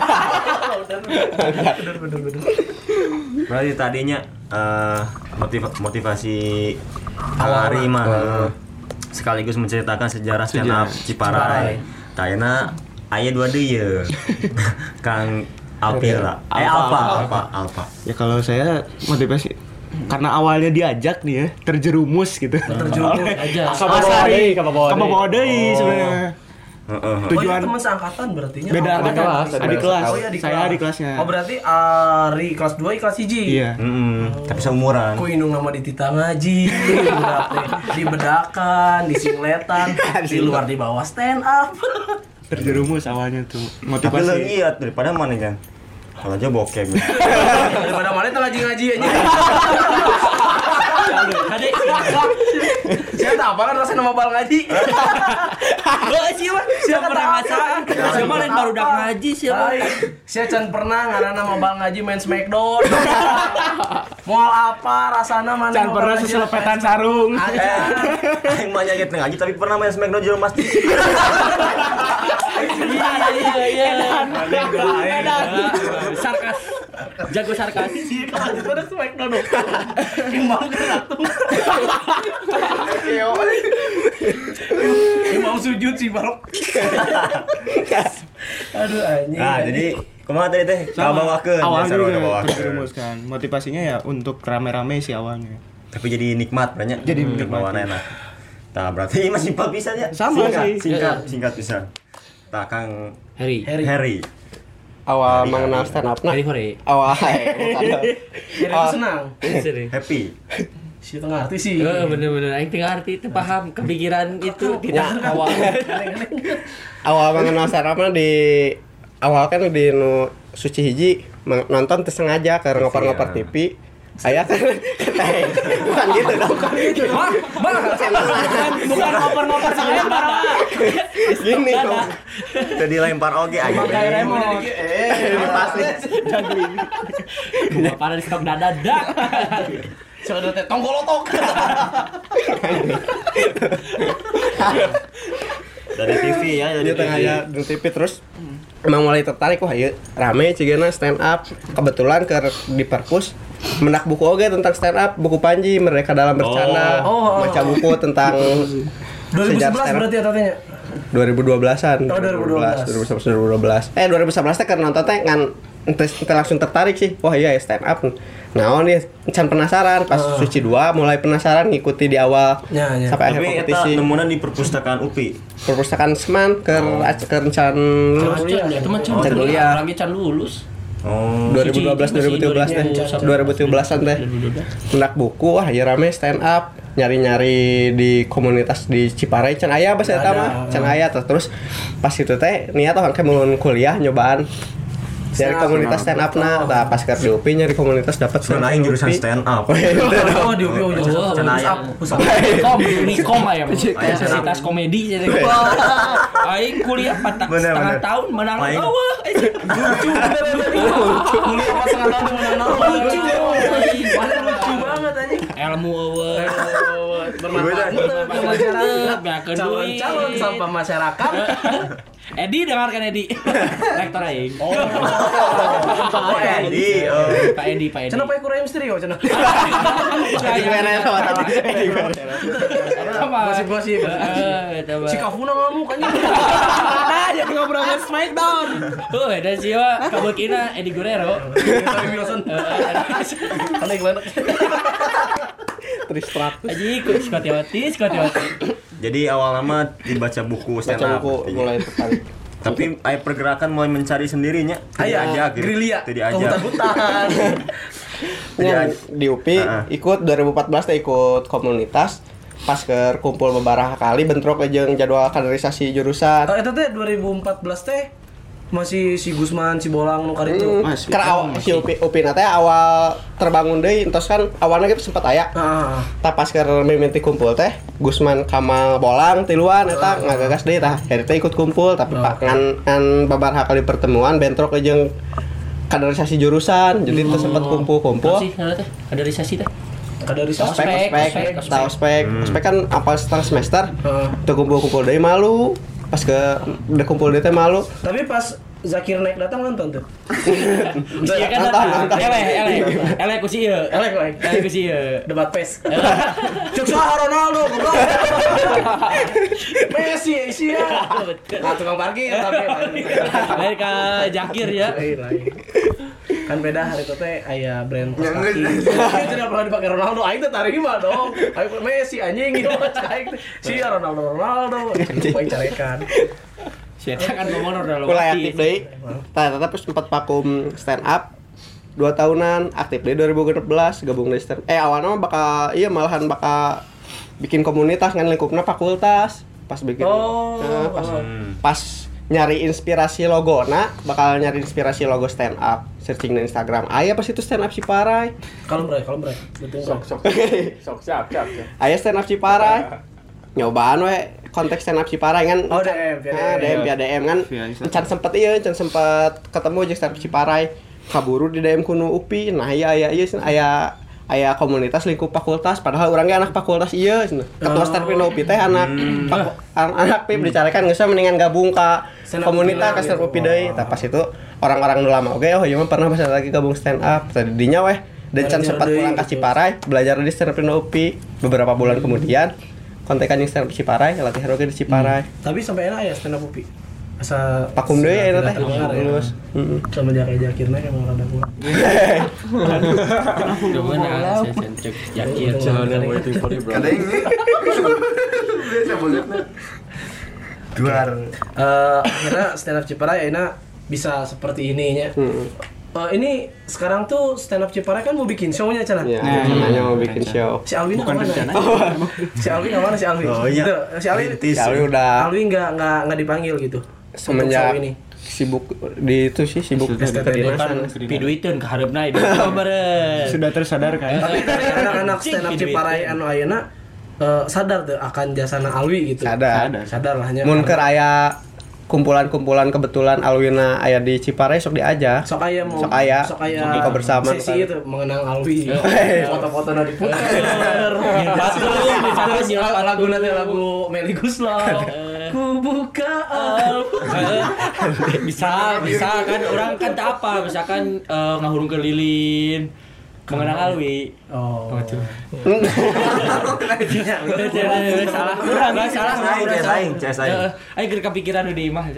Bener. Berarti tadinya motivasi Ari mah sekaligus menceritakan sejarah stand up Ciparai. Kayaknya aya dua deui Kang Alpira. Alpa. Ya kalau saya motivasi karena awalnya diajak nih ya, terjerumus gitu. Terjerumus aja. Kamu deui sebenarnya. Tujuan teman seangkatan berarti nya. Beda adik kelas. Oh iya, Saya adik kelasnya. Oh berarti Ari kelas 2, kelas 1. Iya. Tapi seumuran. Ku indung nama di tita ngaji, di bedakan, di singletan, di luar di bawah stand up. Terjerumus awalnya tuh. Tapi Motivasi. lo lihat daripada mana kan? Kalau aja bokeh. Daripada mana tuh ngaji-ngaji aja. Adek. Saya tak apa kan rasa nama bal ngaji. Siapa pernah ngasaan? Siapa lain baru udah ngaji siapa? Saya can pernah ngaranna nama bal ngaji main Smackdown. Moal apa rasana mana? Can pernah seselepetan sarung. Yang banyak gitu ngaji tapi pernah main Smackdown juga pasti. Iya. Sarkas. Jago sarkas. Itu ada Smackdown. Imam keratung. Imam sujud sih barok. Aduh anjing. Nah, jadi kumaha tadi teh? Bawakeun. Awalnya juga terjerumus kan. Motivasinya ya untuk rame-rame sih awalnya. Tapi jadi nikmat banyak. Jadi nikmat enak. Nah, berarti masih simpel bisa ya. Sama sih. Singkat bisa. Nah, Kang Harry. Awal mengenal stand up Harry. awal Jadi aku senang. happy. Si tengah arti sih. Bener-bener aing teu ngarti teu paham kepikiran itu tidak awal. awal mengenal stand up di awal kan di nu suci hiji nonton teu sengaja ke ngoper-ngoper TV. Aya kan bukan gitu dong. Bukan ngoper-ngoper saya parah. Gini dong. Jadi lempar oge aja. Pasti. Gua parah di stok dada dak. Soalnya teh tonggolotok. Dari TV ya, Dia tengah ya di TV terus emang mulai tertarik wah ieu rame cigana stand up. Kebetulan ke di perpus mendak buku oge tentang stand up, buku Panji Mereka Dalam Bercanda, baca buku tentang 2011 berarti ya tatanya. 2012-an. Oh, 2012. 2011 teh karena nonton teh ngan ente langsung tertarik sih. Wah iya stand up. Nah, nih can penasaran pas Suci 2 mulai penasaran ngikuti di awal sampai akhir Tapi kompetisi. eta nemunan di perpustakaan UPI. Perpustakaan Seman ke can Itu mah can kuliah. Lagi can lulus. Oh. 2012 2013 teh 2013-an teh mendak buku wah ya rame stand up nyari-nyari di komunitas di Ciparai can aya bahasa eta mah can aya terus pas itu teh niat orang mulun kuliah nyobaan nyari komunitas stand up nah pas ke di UPI nyari komunitas dapat Sebenarnya jurusan stand up. Oh di UPI jurusan Nikom aya Universitas Komedi jadi. Aing kuliah 4,5 tahun menang eueuh. Lucu kuliah pas setengah tahun menang lucu. Lucu banget anjing. Ilmu eueuh. Bermanfaat ke masyarakat. Calon sampah masyarakat. Edi dengarkan Edi. Rektor aing. Oh Edi. Pak Edi. Cenah pae kurang misteri yo cenah. Gosip-gosip. Si Kafuna ngamuk anjing. Jadi ngobrolin Smackdown. Ada siapa kabukina Edi Guerrero. Wilson. Aneh gelenek. Tristrak. Aji Scotty. Jadi awal nama dibaca buku stand up. Mulai tertarik. Tapi aya pergerakan mulai mencari sendirinya. Diajak gitu. Gerilya. Teu diajak. Hutan. Di UPI ikut 2014 teh ikut komunitas pas ke kumpul beberapa kali bentrok jeung jadwal kaderisasi jurusan. Eta teh 2014 teh masih si Gusman, si Bolang nu karitu. Karena awal si UPI na teh awal terbangun deui entos kan awalnya kita sempat aya. Tah pas ke mimiti kumpul teh Gusman Kamal Bolang tiluan eta ngagagas deui tah. Eta ikut kumpul tapi pak ngan babaraha kali pertemuan bentrok jeung kaderisasi jurusan. Jadi teh sempat kumpul-kumpul. Sih teh kaderisasi teh. Ospek kan apa setengah semester. Teu kumpul-kumpul deui malu. Pas ke udah kumpul dia teh malu. Tapi pas Zakir naik datang nonton tuh. Iya kan nonton. Elek ku sih ieu. Elek ku sih ieu. Debat PES. Cuk saha Ronaldo. Messi sia. Nah, tukang parkir tapi. Lain ka Zakir ya. Kan beda hari itu teh aya brand kos kaki. Tidak pernah dipakai Ronaldo, aing teh tarima dong. Aing Messi anjing gitu aing teh. Sia Ronaldo. Poin carekan. Saya kan ngomong udah mulai aktif deui. Tah sempat vakum stand up 2 tahunan, aktif deui 2016 gabung deui stand. Awalnya mah malahan bakal bikin komunitas ngan lingkupna fakultas. Pas bikin pas nyari inspirasi logona, bakal nyari inspirasi logo stand up, searching di Instagram. Aya pas itu stand up Ciparai. Kalem bre. Betul Sok siap. Aya stand up Ciparai. Nyobaan we konteks stand up Ciparai kan. Oh, DM kan. Encan sempet ketemu jeung stand up Ciparai. Kaburu di DM kuno UPI. Nah, aya komunitas lingkup fakultas padahal urang ge anak fakultas ieu cenah. Ketua stand up UPI teh anak PIP dicarekan geus mendingan gabung ka komunitas ka stand up UPI deui. Tah pas itu orang-orang nu lama oge ieu mah pernah basa lagi gabung stand up. Tadinya weh dan can sempat pulang ka Ciparai belajar di stand up UPI beberapa bulan kemudian kontekan yang stand up Ciparai, latihan oge di Ciparai. Tapi sampai enak ya stand up UPI. Asa pakum deui eta teh. Lulus. Sama Jakirna emang rada kuat. Gimana sentrek Jakir. Kada ini. Biasa banget. Duar. Akhirnya stand up Ciparai akhirnya bisa seperti ini nya. Ini sekarang tuh stand up Ciparai kan mau bikin show-nya Cana. Iya, rencananya mau bikin show. Si Alwin bukan rencana. Si Alwin mana si Alwin? Oh iya. Si Alwin udah Alwin enggak dipanggil gitu. Semenjak sibuk di itu sih sibuk kedinasan. Piduiteun ka hareupna itu beureun. Sudah tersadarkan. Tapi dari anak-anak stand up Ciparai anu ayeuna sadar tuh akan jasana Alwi gitu. Sadar lah nya. Mun keur aya kumpulan-kumpulan kebetulan Alwina aya di Ciparai sok diajak. Sok aya buka bersama sesi itu mengenang Alwi. Foto-foto na diputer. Lagu Meli Guslau. Ku buka bisa kan orang kan tak apa misalkan ngahurung ke lilin mengenang Alwi. Oh. Salah. Aing keur kepikiran di imah.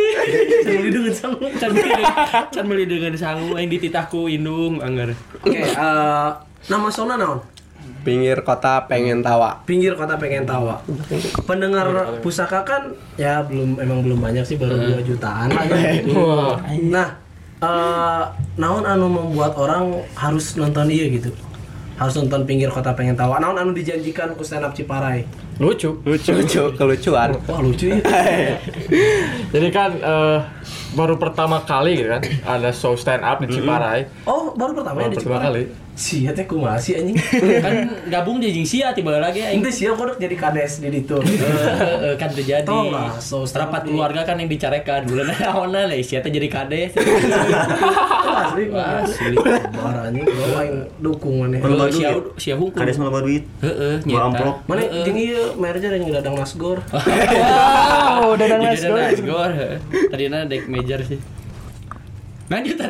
Can meuli dengan sangu aing dititahku indung anggar. Oke, nama sona naon? Pinggir kota pengen tawa. Pendengar pusaka kan ya belum banyak sih, baru 2 jutaan lah ya. Nah, naon anu membuat orang harus nonton ieu gitu? Harus nonton Pinggir Kota Pengen Tawa. Naon anu dijanjikan ku stand up Ciparai? Lucu, kelucuan. Wah, lucu ya. Jadi kan baru pertama kali gitu kan ada show stand up di Ciparai. Oh, baru pertama ya di Ciparai. Sia teh kumaha sih anjing? Kan gabung jeung sia tiba lagi aing. Ente sia kodok jadi kades di ditu. Kan terjadi. So rapat keluarga kan yang dicarekan. Bulan naonna lah sia teh jadi kades. Asli. Parah anjing, gua main dukung maneh. Sia hukum. Kades mah duit. Heeh, nyata. Amplop. Mana jeung ieu merger yang Dadang Nasgor. Wow, Dadang Nasgor. Tadina dek major sih. Lanjut.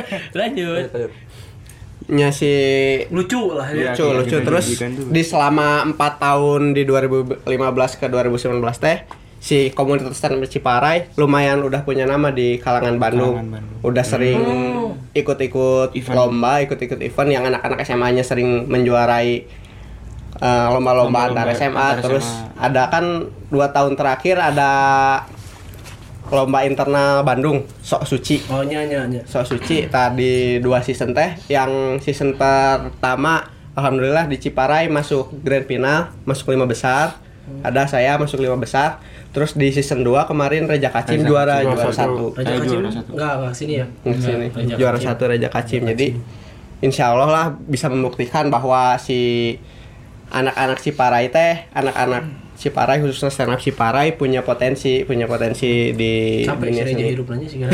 Nya si lucu lah ya. Lucu terus di selama 4 tahun di 2015 ke 2019 teh si komunitas stand up Ciparai lumayan udah punya nama di kalangan Bandung. Udah sering ikut-ikut lomba, ikut-ikut event yang anak-anak SMA-nya sering menjuarai lomba-lomba antar SMA. Terus ada kan 2 tahun terakhir ada lomba internal Bandung Sok Suci. Oh nya. Sok Suci tadi 2 season teh. Yang season pertama alhamdulillah di Ciparai masuk grand final, masuk 5 besar. Ada saya masuk 5 besar. Terus di season 2 kemarin Reja Kacim juara 1. Reja Kacim enggak sini ya. Sini. Juara 1 Reja Kacim. Jadi insyaallah lah bisa membuktikan bahwa si anak-anak Ciparai teh, anak-anak Ciparai khususnya stand up Ciparai punya potensi di sampai dunia sini. Sampai hidup nanya sih kan.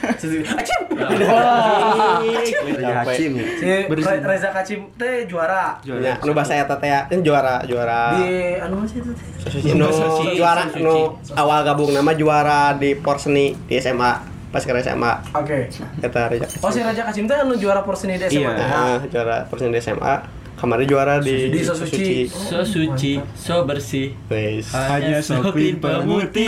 Acim. Reza Kacim teh juara. Ya, nu bahasa eta teh juara. Di anu sih itu teh. Juara awal gabung nama juara di Porseni di SMA. pas ke SMA. Oke. Eta Raja Kasim. Oh si Raja Kasim teh anu juara Porsenida SMA. Juara Porsenida SMA. Kemarin juara di Sosuci. So suci, so bersih. Wes. Hanya so clean pemutih.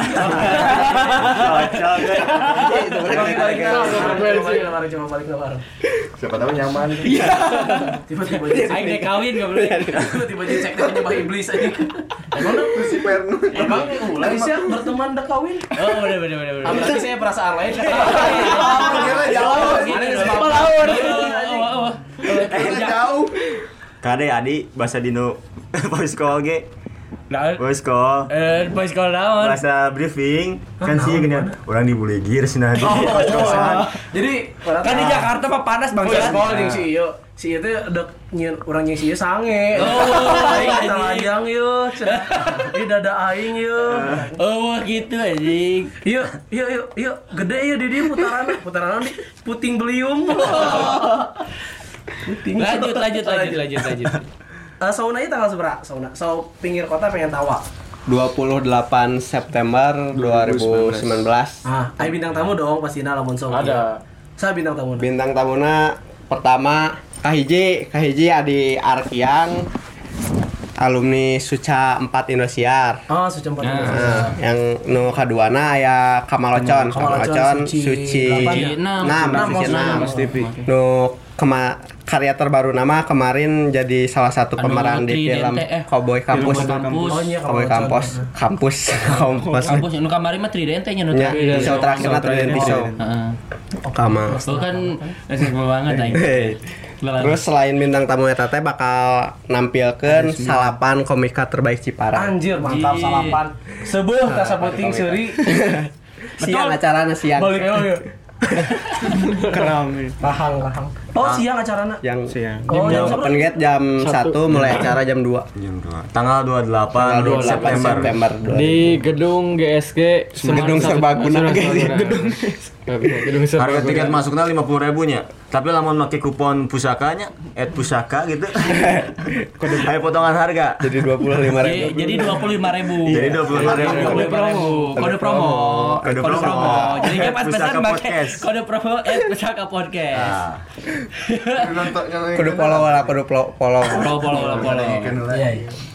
Coba balik nomor. Siapa tahu nyaman. Tiba-tiba Aing dek kawin enggak boleh. tiba-tiba cek teh nyembah iblis aja. Emang Si Pernu. emang mulai sih berteman dek kawin. Oh, bener. Berarti saya perasaan lain. Kira jauh. Jauh. Kade adi bahasa dino voice call ge. Nah, Voice call. boys call naon? Bahasa briefing kan sih gini orang dibully gear sih nah kosan. Jadi Kan di Jakarta mah panas Bang banget. sekolah jeung si Iyo. Si Iyo teh udah nyeun urang jeung si Iyo sange. Aing Kita lajang yeuh. Di dada aing yeuh. Oh, gitu anjing. Yuk, gede ya di dia putaran di puting beliung. Puting. Lanjut. Saunanya tanggal seberapa? Sau pinggir kota pengen tawa. 28 September 2019. Ayo bintang tamu dong pastinya lamun sau. Ada. Saya bintang tamu. Bintang tamuna pertama Kahiji Adi Arkiang, alumni Suca 4 Indosiar. Oh, Suca 4. Yang nu kaduana aya Kamalocon Suci 6 Mas TV. Nu karya terbaru nama kemarin jadi salah satu pemeran di film Cowboy Kampus. Kampus Nu kamari mah Tridente nya nu. Show terakhirna Tridente Show. Kama. Bukan seru banget aing. Terus selain bintang tamu eta teh bakal nampilkeun salapan komika terbaik Ciparai. Anjir, mantap salapan. Sebuah tasa puting seuri. Siang acarana siang. Balik Keram. Rahang. Oh, siang acarana. Yang Siang. Oh, jam open gate jam 1 mulai acara jam 2. Jam 2. Tanggal 28 September. Di gedung GSG Gedung Serbaguna. Gedung Harga Serbaguna. tiket masuknya 50.000 nya. Tapi lamun make kupon pusakanya @pusaka gitu. Ayo potongan harga. Jadi 25.000. Jadi 25.000. Jadi 25.000. Kode promo. Jadi kan pas Pusaka pesan pakai Podcast. kode promo @pusaka podcast. Kudu follow lah, follow. Iya.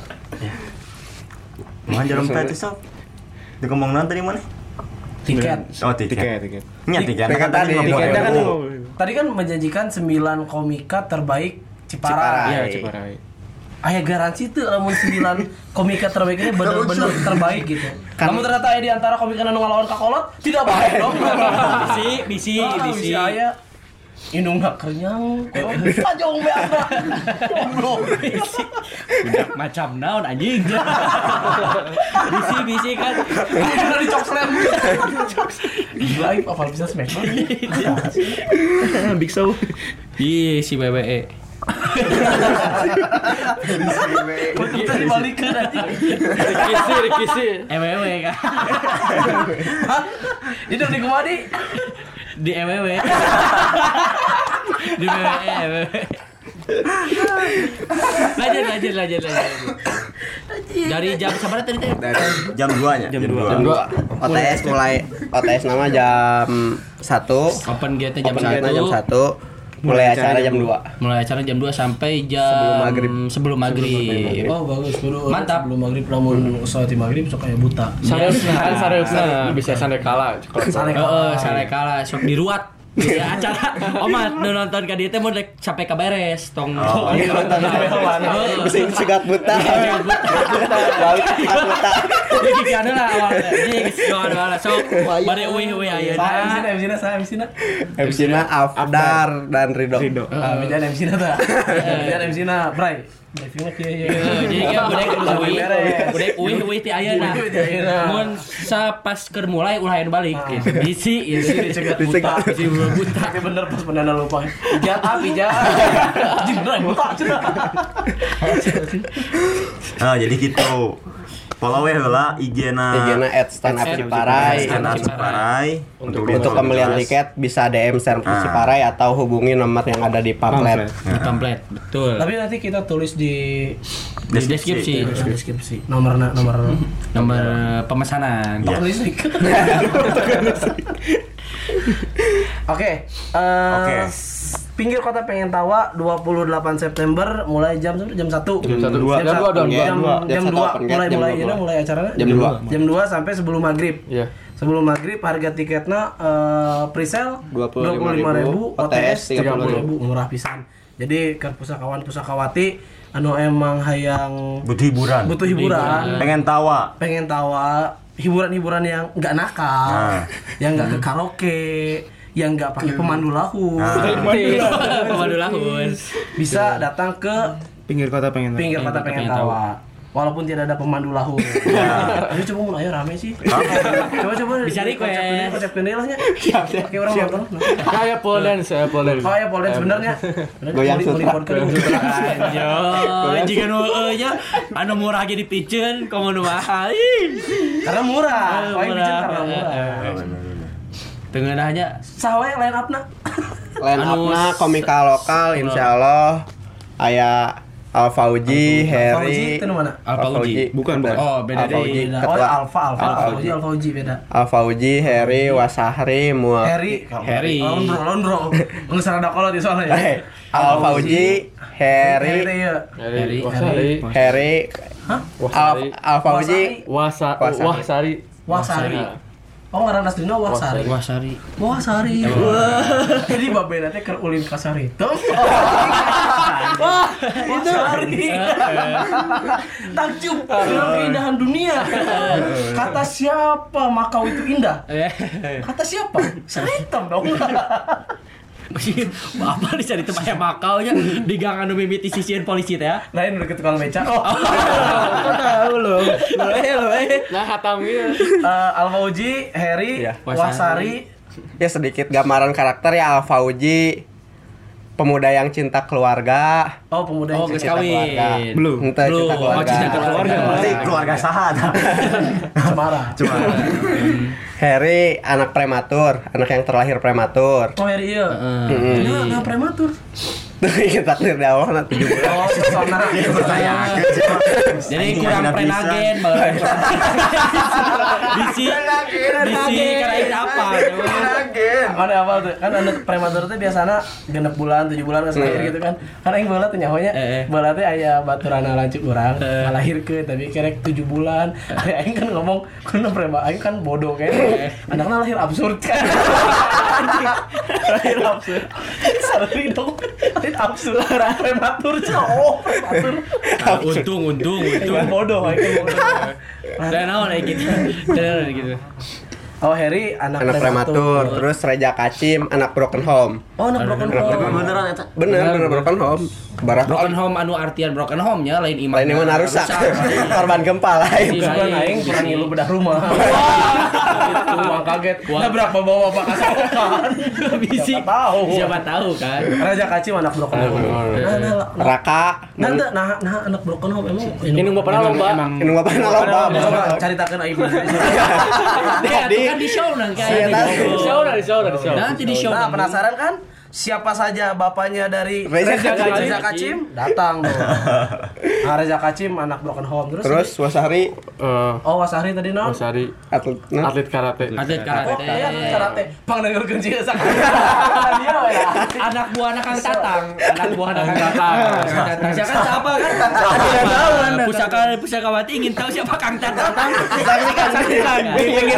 Mohon jarum tadi sob. Di ngomong nanti di mana? Tiket. Oh, tiket. Nya tiket. Tiket tadi, Tiketnya kan 50.000. Tadi kan menjanjikan 9 komika terbaik Ciparai. Iya, Ciparai. Aya garansi tuh lamun 9 komika terbaik ini bener-bener terbaik gitu. Kamu ternyata aya di antara komika anu ngalawan kakolot tidak baik dong. Bisi. Aya indung gak kenyang. Ajong beana. Goblok. Udah macam naon anjing. Bisi kan. Udah dicokslem. Live apa bisa smackdown? Big Show. Ih, si WWE. Kita dibalikin aja. Rikisi. EWW kan. Itu di Kumadi. Di EWW. Di WWE. Lanjut. Dari jam sabar tadi teh? Jam 2 nya. Jam 2. OTS nama jam 1. Open gate jam 1. Jam 1. Mulai acara jam 2. Mulai acara jam 2 sampai jam sebelum maghrib. Oh bagus dulu. Mantap. Sebelum maghrib lamun salat maghrib sok kayak buta. Sareusna bisa sande kala. Sare kala sok diruat. Ya acara omat nonton ka dieu teh mun rek sampai ka beres tong Segat buta. Balik buta. Jadi kiana lah awalnya. Jadi sok bade euy ayeuna. MC-na Afdar dan Ridho. Beda MC-na tah. Beda MC-na Bray. Briefingna kieu ya. Jadi kan budek euy ti ayeuna. Mun sapas keur mulai ulah anu balik gitu. Bisi Dicegat buta. Tapi bener pas pendana lupa. Pijat. Jindrai buta cenah. Nah, jadi gitu. Follow lah IG-na @standupciparai. Untuk pembelian tiket bisa DM Servis Ciparai atau hubungi nomor yang ada di pamflet. Di pamflet, betul. Tapi nanti kita tulis di deskripsi. Nomor Nomor pemesanan. listrik. Oke. Pinggir Kota Pengen Tawa 28 September mulai jam 1. Jam 2 mulai acaranya. Jam 2 sampai sebelum maghrib. Iya. Sebelum maghrib harga tiketnya pre-sale 25.000, OTS 30.000, murah pisan. Jadi ke pusakawan-pusakawati anu emang hayang butuh hiburan. Pengen tawa, hiburan-hiburan yang nggak nakal, yang nggak ke karaoke, yang nggak pakai pemandu lahu. Pemandu lahu. Bisa datang ke Pinggir Kota Pengen Tawa. Walaupun tidak ada pemandu lahu. Ayo coba mun aya rame sih. Coba bisa request. Konsep kendilahnya. Pakai orang nonton. Kayak pole dance. Oh ya pole dance sebenarnya. Goyang sutra. Anjo, jika nu nya anu murah ge dipikeun komo nu mahal. Karena murah. Karena murah. Tengenahnya sawe line up-na. Line up-na komika lokal insyaallah aya Alfauji, Heri, itu mana? Alfauji. Bukan. Oh, beda Alfauji. deh. Oh, Alfauji beda. Alfauji, Heri, Wasahri, Heri. Londro. Ngeus rada kolot di soalnya. Alfauji, Heri. Alfauji, Wahsari. Oh, ngaran aslinya Wahsari. Wahsari. Jadi babena teh keur ulin ka Saritem. Wah, Wahsari. Takjub dengan keindahan dunia. Kata siapa Makau itu indah? Kata siapa? Saritem dong. Apa dicari tempat yang Makau nya di gang anu mimiti sisian polisi teh ya. Lain udah ke tukang beca. Kok tahu lo. Nah, hatam gitu. Alfauji, Heri, Wahsari. Ya sedikit gambaran karakter ya Alfauji. Pemuda yang cinta keluarga. Oh, pemuda yang cinta keluarga. Belum. Cinta keluarga. berarti keluarga sahat. Cemara. Heri anak prematur, anak yang terlahir prematur. Oh, Heri iya. Nah, prematur. Tuh takdir di Allah nanti juga. Oh, sona. Jadi kurang prenagen Bisi karain apa? Mana apa tuh? Kan anak prematur teh biasana 6 bulan, 7 bulan geus lahir gitu kan. Kan aing baheula teh nyahonya. Baheula teh aya baturana lanceuk urang, ngalahirkeun tapi kerek 7 bulan. Aing kan ngomong kunaon prema, aing kan bodoh kan. Anakna lahir absurd kan. Lahir absurd. Sorry dong. Lahir absurd. Prematur cowok. Untung Bodoh, aing bodoh. Dan naon gitu. Oh, Heri anak prematur, terus Reja Kacim anak broken home. Oh, anak broken home. Beneran eta. Bener broken home. Broken home anu artian broken home nya lain iman. Lain iman rusak. Korban gempa lain. Bukan aing kurang ngilu bedah rumah. Itu uang kaget. Nah, berapa bawa Pak kasakan? Bisi. Siapa tahu kan. Raja Kacim anak broken home. Raka. Nah, anak broken home emang Ini bapana lomba. Ini bapana lomba. Coba caritakeun aing. Kan di show nanti Di show. Nanti di show. Nah, penasaran kan? Siapa saja bapaknya dari Reza Kacim? Datang dong. Nah, Reza Kacim anak broken home terus Wasahri. Oh, Wasahri tadi non? Wasahri atlet karate. Oh, iya, atlet karate. Pang dengerkeun sih sak. Anak buah anak Kang Tatang. Siapa siapa kan? Tidak tahu Anda. Pusakawati ingin tahu siapa Kang Tatang. Saksikan.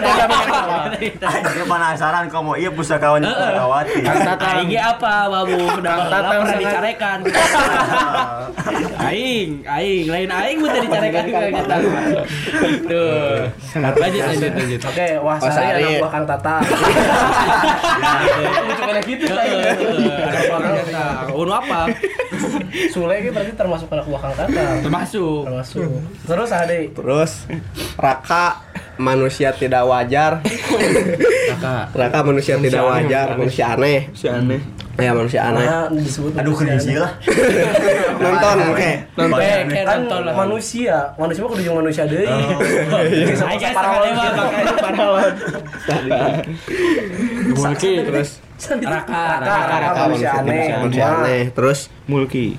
Aku penasaran kamu iya pusakawan pusakawati. Kang Tatang. Apa babu udah pernah dicarekan. Aing lain aing udah dicarekan Kang Tatang. Tuh. Lanjut. Oke, Wasahri anak buah Kang Tatang. Lucu kayak gitu Anak buah Kang Tatang. Unu apa? Sule ini berarti termasuk anak buah Kang Tatang. Termasuk. Terus Ade. Terus Raka manusia tidak wajar. Raka manusia tidak wajar, manusia aneh. Ya manusia aneh. Disebut Aduh kerinci lah. Nonton oke. Kan manusia mah kudu manusia deui. Aing parawan. Mulki terus Raka manusia aneh. Terus Mulki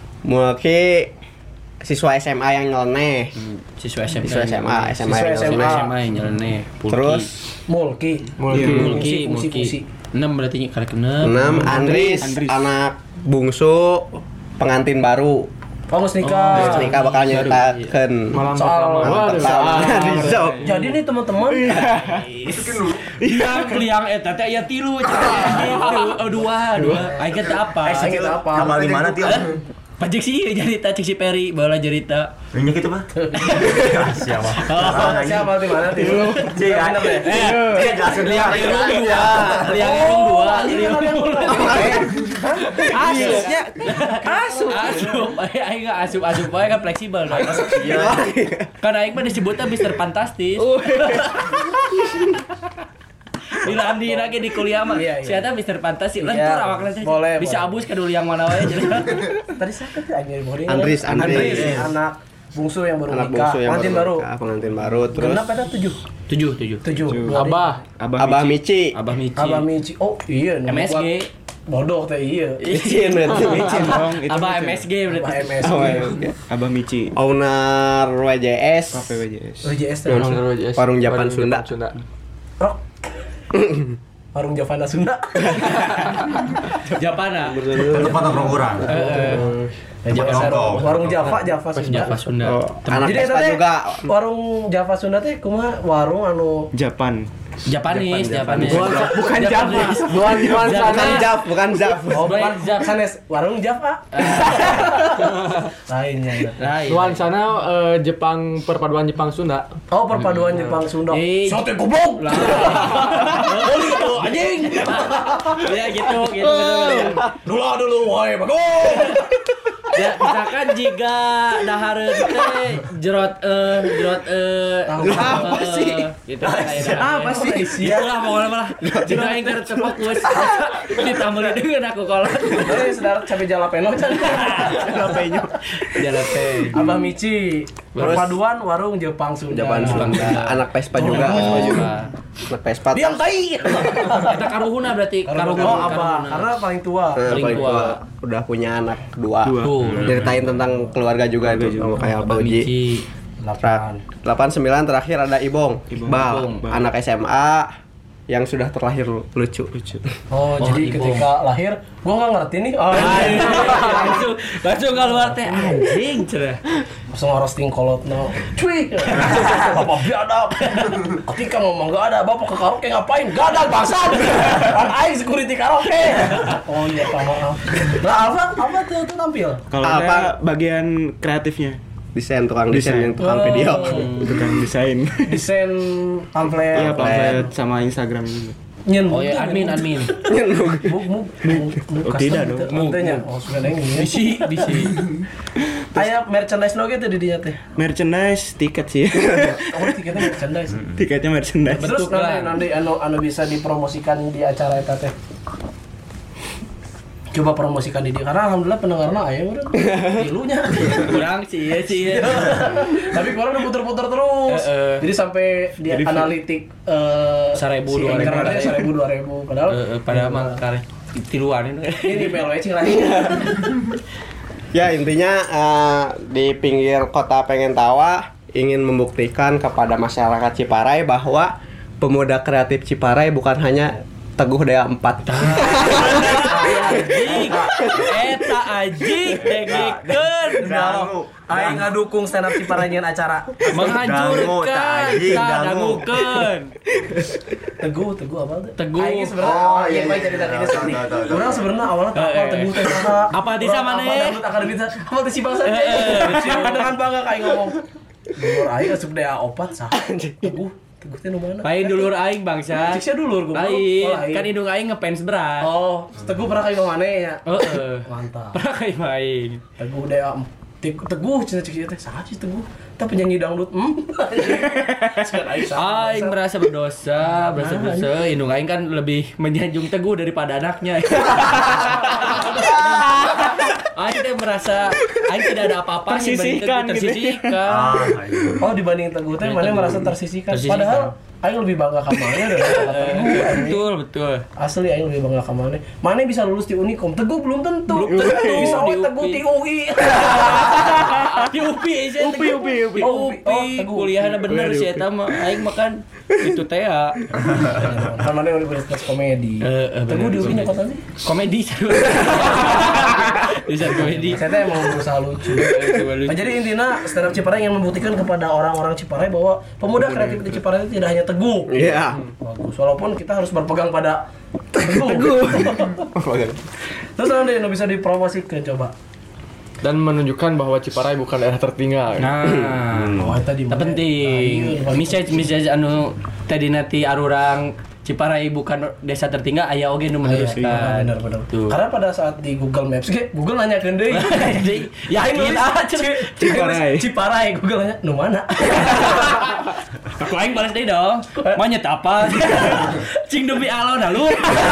siswa SMA yang nyeleneh. Siswa SMA yang nyeleneh. Terus Mulki. 6 berarti karek 6. 6 Andris, anak bungsu pengantin baru. Geus nikah. Nikah bakal nyeritakeun Soal Rizal. jadi nih teman-teman Liang eta teh aya 3 gitu. 2. Aing teh apa? Kamal di mana Tio? Pajek sih cerita cek si Peri bala cerita. Minyak itu mah. Siapa? siapa di mana Tio? Liang irung 2. Asupnya. Asup. Aing enggak asup wae kan fleksibel. Iya. Kan aing mah disebutnya Mister Fantastis. Bila Andi lagi di kuliah mah, siapa Mister Fantastis, lentur awakna teh. Bisa abus ka dulu yang mana wae jadi. Tadi sakit ya anjir Andris, anak bungsu yang baru nikah, pengantin baru terus. Genap ada 7. Abah Mici. Abah Mici. Oh iya, MSG. Bodoh teh iya. Izin berarti. Abah MSG berarti. Abah Mici. Owner WJS. WJS. Warung Japan Sunda. Rok. Warung Javana Sunda. Japana. Tempat nongkrong orang. Warung Java Sunda. Anak Vespa juga. Warung Java Sunda teh kumaha warung anu Japanis. Bukan Java. Bukan Jaf. Oh, bukan sanes warung Java. Lainnya. Nuansana Jepang, perpaduan Jepang Sunda. Oh, perpaduan Jepang Sunda. Sate goblok. Oli itu anjing. Ya gitu betul. Dulu wae bagus. Ya, misalkan jika dahareun teh jerot apa sih? Gitu kayak apa sih? Itulah pokoknya malah jika aing keur fokus ditambah dengan aku kolot. Saudara cabe jalapeno can. Jalapeno. Abah Mici. Perpaduan warung Jepang Sunda. Anak Vespa juga. Anak Vespa. Diam tai. Kita karuhuna berarti Abah karena paling tua. Paling tua. Udah punya anak 2. Ceritain tentang keluarga juga itu sama kayak Pak Uji. 89 terakhir ada Ibong. Anak SMA yang sudah terlahir lucu. Oh, jadi ketika lahir gua enggak ngerti nih. Langsung keluar teh anjing cerah. Langsung roasting kolotna. Cuy. Bapak biadab. Ketika ngomong enggak ada, Bapak ke karaoke ngapain? Gadang bangsat. Kan aing security karaoke. Oh iya, maaf. Lah apa tuh tampil? Kalau ada bagian kreatifnya. Tukang desain yang tukang video. Tukang desain. Desain pamflet. Iya, pamflet sama Instagram juga. Oh ya admin. Tidak dong. Mutenya. Oh, sudah neng. Bisi. Aya merchandise no gitu di dinya teh. Merchandise tiket sih. Oh, tiketnya merchandise. Tiketnya merchandise. Terus nanti anu bisa dipromosikan di acara eta teh. Coba promosikan di dia karena alhamdulillah pendengarna aya urang. Tilunya. Kurang sih. Tapi orang udah puter-puter terus. Jadi sampai dia analitik 1.000 2.000 padahal mah karek tiluan ini PLW cing lagi. Ya intinya di pinggir kota Pengentawa ingin membuktikan kepada masyarakat Ciparai bahwa pemuda kreatif Ciparai bukan hanya Teguh Dea 4. Eta anjing degikeun. Aing ngadukung stand up Ciparai nyeun acara. Menghancurkan, dangukeun. Teguh apa tuh? Teguh. Aing sebenarnya iya bae cerita ini sedih. Urang sebenarnya awalnya kapal Teguh teh saha? Apa di sana maneh? Akademi apa teh si bangsa? Dengan bangga kayak ngomong. Dulur aing asup Dea 4 saha? Teguh teh nu mana? Lain dulur aing bangsa. Cik sia dulur gua. Lain. Kan indung aing ngefans berat. Oh, Teguh pernah kayak mana ya? Heeh. Mantap. Pernah kayak main. Teguh Dea Teguh cina cik teh saha sih Teguh? Teh penyanyi dangdut. Aing merasa berdosa. Indung aing kan lebih menyanjung Teguh daripada anaknya. Aing teh merasa aing tidak ada apa-apa tersisihkan. Oh, dibanding Teguh teh mana merasa tersisihkan. Padahal aing lebih bangga ka mana daripada Teguh. Betul. Asli aing lebih bangga ka mana. Mana bisa lulus di Unikom, Teguh belum tentu. Bisa we Teguh di UI. Di UPI aja. UPI. Kuliahna bener sih eta mah aing makan Itu teh ya. Kan mana universitas komedi. Teguh di UIN ya kota sih. Komedi. Bisa komedi. Saya emang berusaha lucu. Nah, jadi intinya stand up Ciparai ingin membuktikan kepada orang-orang Ciparai bahwa pemuda kreatif di Ciparai itu tidak hanya Teguh. Iya. Bagus. Walaupun kita harus berpegang pada Teguh. Terus nanti bisa dipromosikan coba. Dan menunjukkan bahwa Ciparai bukan daerah tertinggal. Nah, Tadi penting. Misal anu tadi nanti arurang Ciparai bukan desa tertinggal, aya oge nu meneruskan. Benar. Tuh. Karena pada saat di Google Maps, Google nanyakeun deui. Yakin Ciparai, Google nanya, "Nu mana?" Aku aing balas deui dong. Monyet apa? Cing demi alon lu.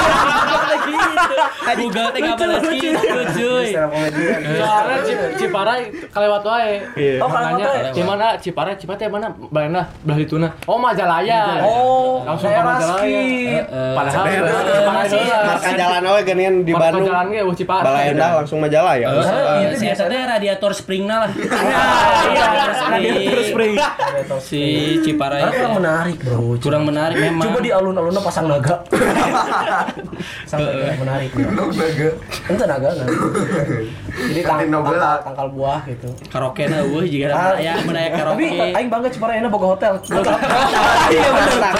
Google teh enggak balas gitu, cuy. Soalnya Ciparai kalewat wae. Oh, kalewat wae. Di mana Ciparai? Ciparai mana? Belah dituna. Oh, Majalaya. Oh, langsung ke Majalaya. Padahal Marka jalan we geunian di Bandung. Jalan ge Ciparai. Balaendah langsung Majalaya. Itu biasanya radiator springna lah. Radiator spring. Si Ciparai. kurang menarik, Bro. Kurang menarik memang. Coba di alun-alunnya pasang naga. Sampai menarik. Itu naga kan. Jadi tangkal buah gitu. Karaoke na eueuh jiga aya menaya karaoke. Tapi aing bangga Ciparai enak boga hotel. Iya benar.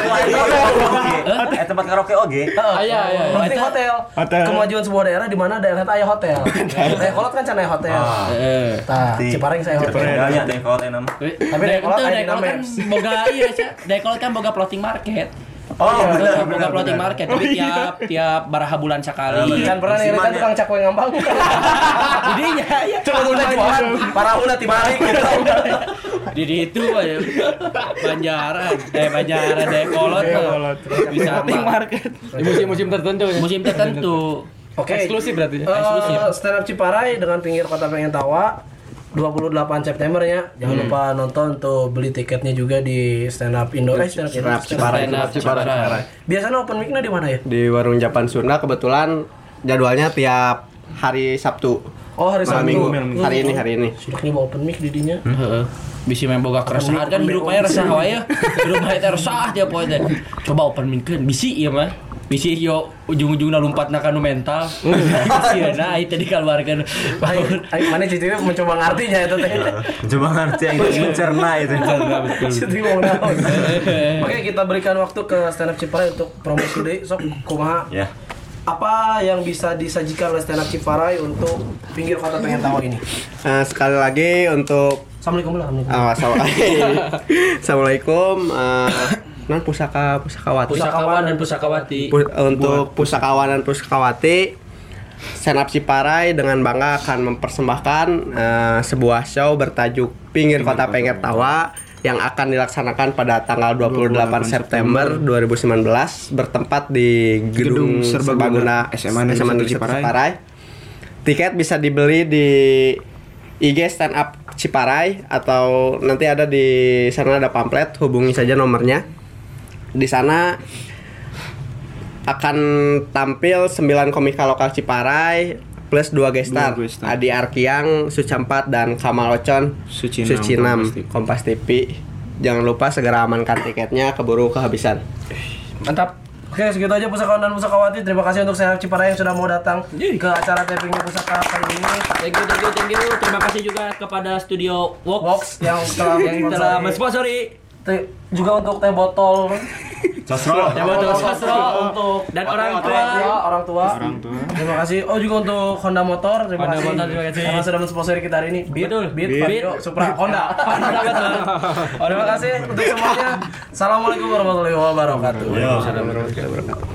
Tempat karaoke oge. Iya. Penting hotel. Kemajuan sebuah daerah di mana daerah itu aya hotel. Dayakolot kan cenah aya hotel. Tah, Ciparai saya hotel. Banyak Dayakolot enam. Tapi Dayakolot aya kan boga iya sih. Dayakolot kan boga floating market. Boga floating market tapi tiap baraha bulan sekali. Kan pernah nih kan tukang cakwe ngambang. Jadi ya Coba udah jualan. Parahuna ti balik gitu. Di itu aja Banjaran Dayakolot bisa floating market. Di musim-musim tertentu ya. musim tertentu. Oke. Eksklusif berarti. Eksklusif. Stand up Ciparai dengan pinggir kota pengen tawa 28 September ya. Jangan lupa nonton tuh, beli tiketnya juga di Stand Up Indo. Stand Up Ciparai. Biasanya open mic-nya di mana ya? Di Warung Japan Sunda kebetulan jadwalnya tiap hari Sabtu. Oh, hari Sabtu. Minggu. Hari ini. Sudah nih bawa open mic di dinya. Heeh. Bisa main boga keresahan kan hirup aya resah wae ya. Hirup aya teh resah tiap poe teh. Coba open mic keun bisi ieu mah. Bisi yo ujung-ujungna lompatna ka nu mental. Sieuna ai tadi keluarkan. Mana cicitnya mencoba ngartinya itu teh. Coba ngerti yang mencerna itu. Cicitnya mau naon. Oke, kita berikan waktu ke Stand Up Ciparai untuk promosi deui. Sok kumaha? Ya. Apa yang bisa disajikan oleh Stand Up Ciparai untuk pinggir kota pengen tawa ini? Sekali lagi untuk Assalamualaikum. Assalamualaikum. Pusakawati. Pusakawan dan pusakawati. Untuk pusakawan dan pusakawati, Stand Up Ciparai dengan bangga akan mempersembahkan sebuah show bertajuk Pinggir Kota Pengen Tawa yang akan dilaksanakan pada tanggal 28 September 2019 bertempat di Gedung Serbaguna SMA Negeri Ciparai. Tiket bisa dibeli di IG Stand Up Ciparai atau nanti ada di sana ada pamflet, hubungi saja nomornya. Di sana akan tampil 9 komika lokal Ciparai plus 2 gestar, Adi Arkiang, Sucampat dan Kamal Ocon, Sucinam, Kompas TV. Jangan lupa segera amankan tiketnya, keburu kehabisan. Mantap. Oke, segitu aja pusakawan dan pusakawati. Terima kasih untuk Stand Up Ciparai yang sudah mau datang ke acara tapingnya pusaka kali ini. Thank you. Terima kasih juga kepada Studio Vox yang telah mensponsori. Juga untuk teh botol Sosro untuk dan orang tua. Terima kasih. Oh, juga untuk Honda Motor. Terima kasih. Karena sudah mensponsori kita hari ini. Beat, Vario, Supra, Honda. Terima kasih untuk semuanya. Assalamualaikum warahmatullahi wabarakatuh.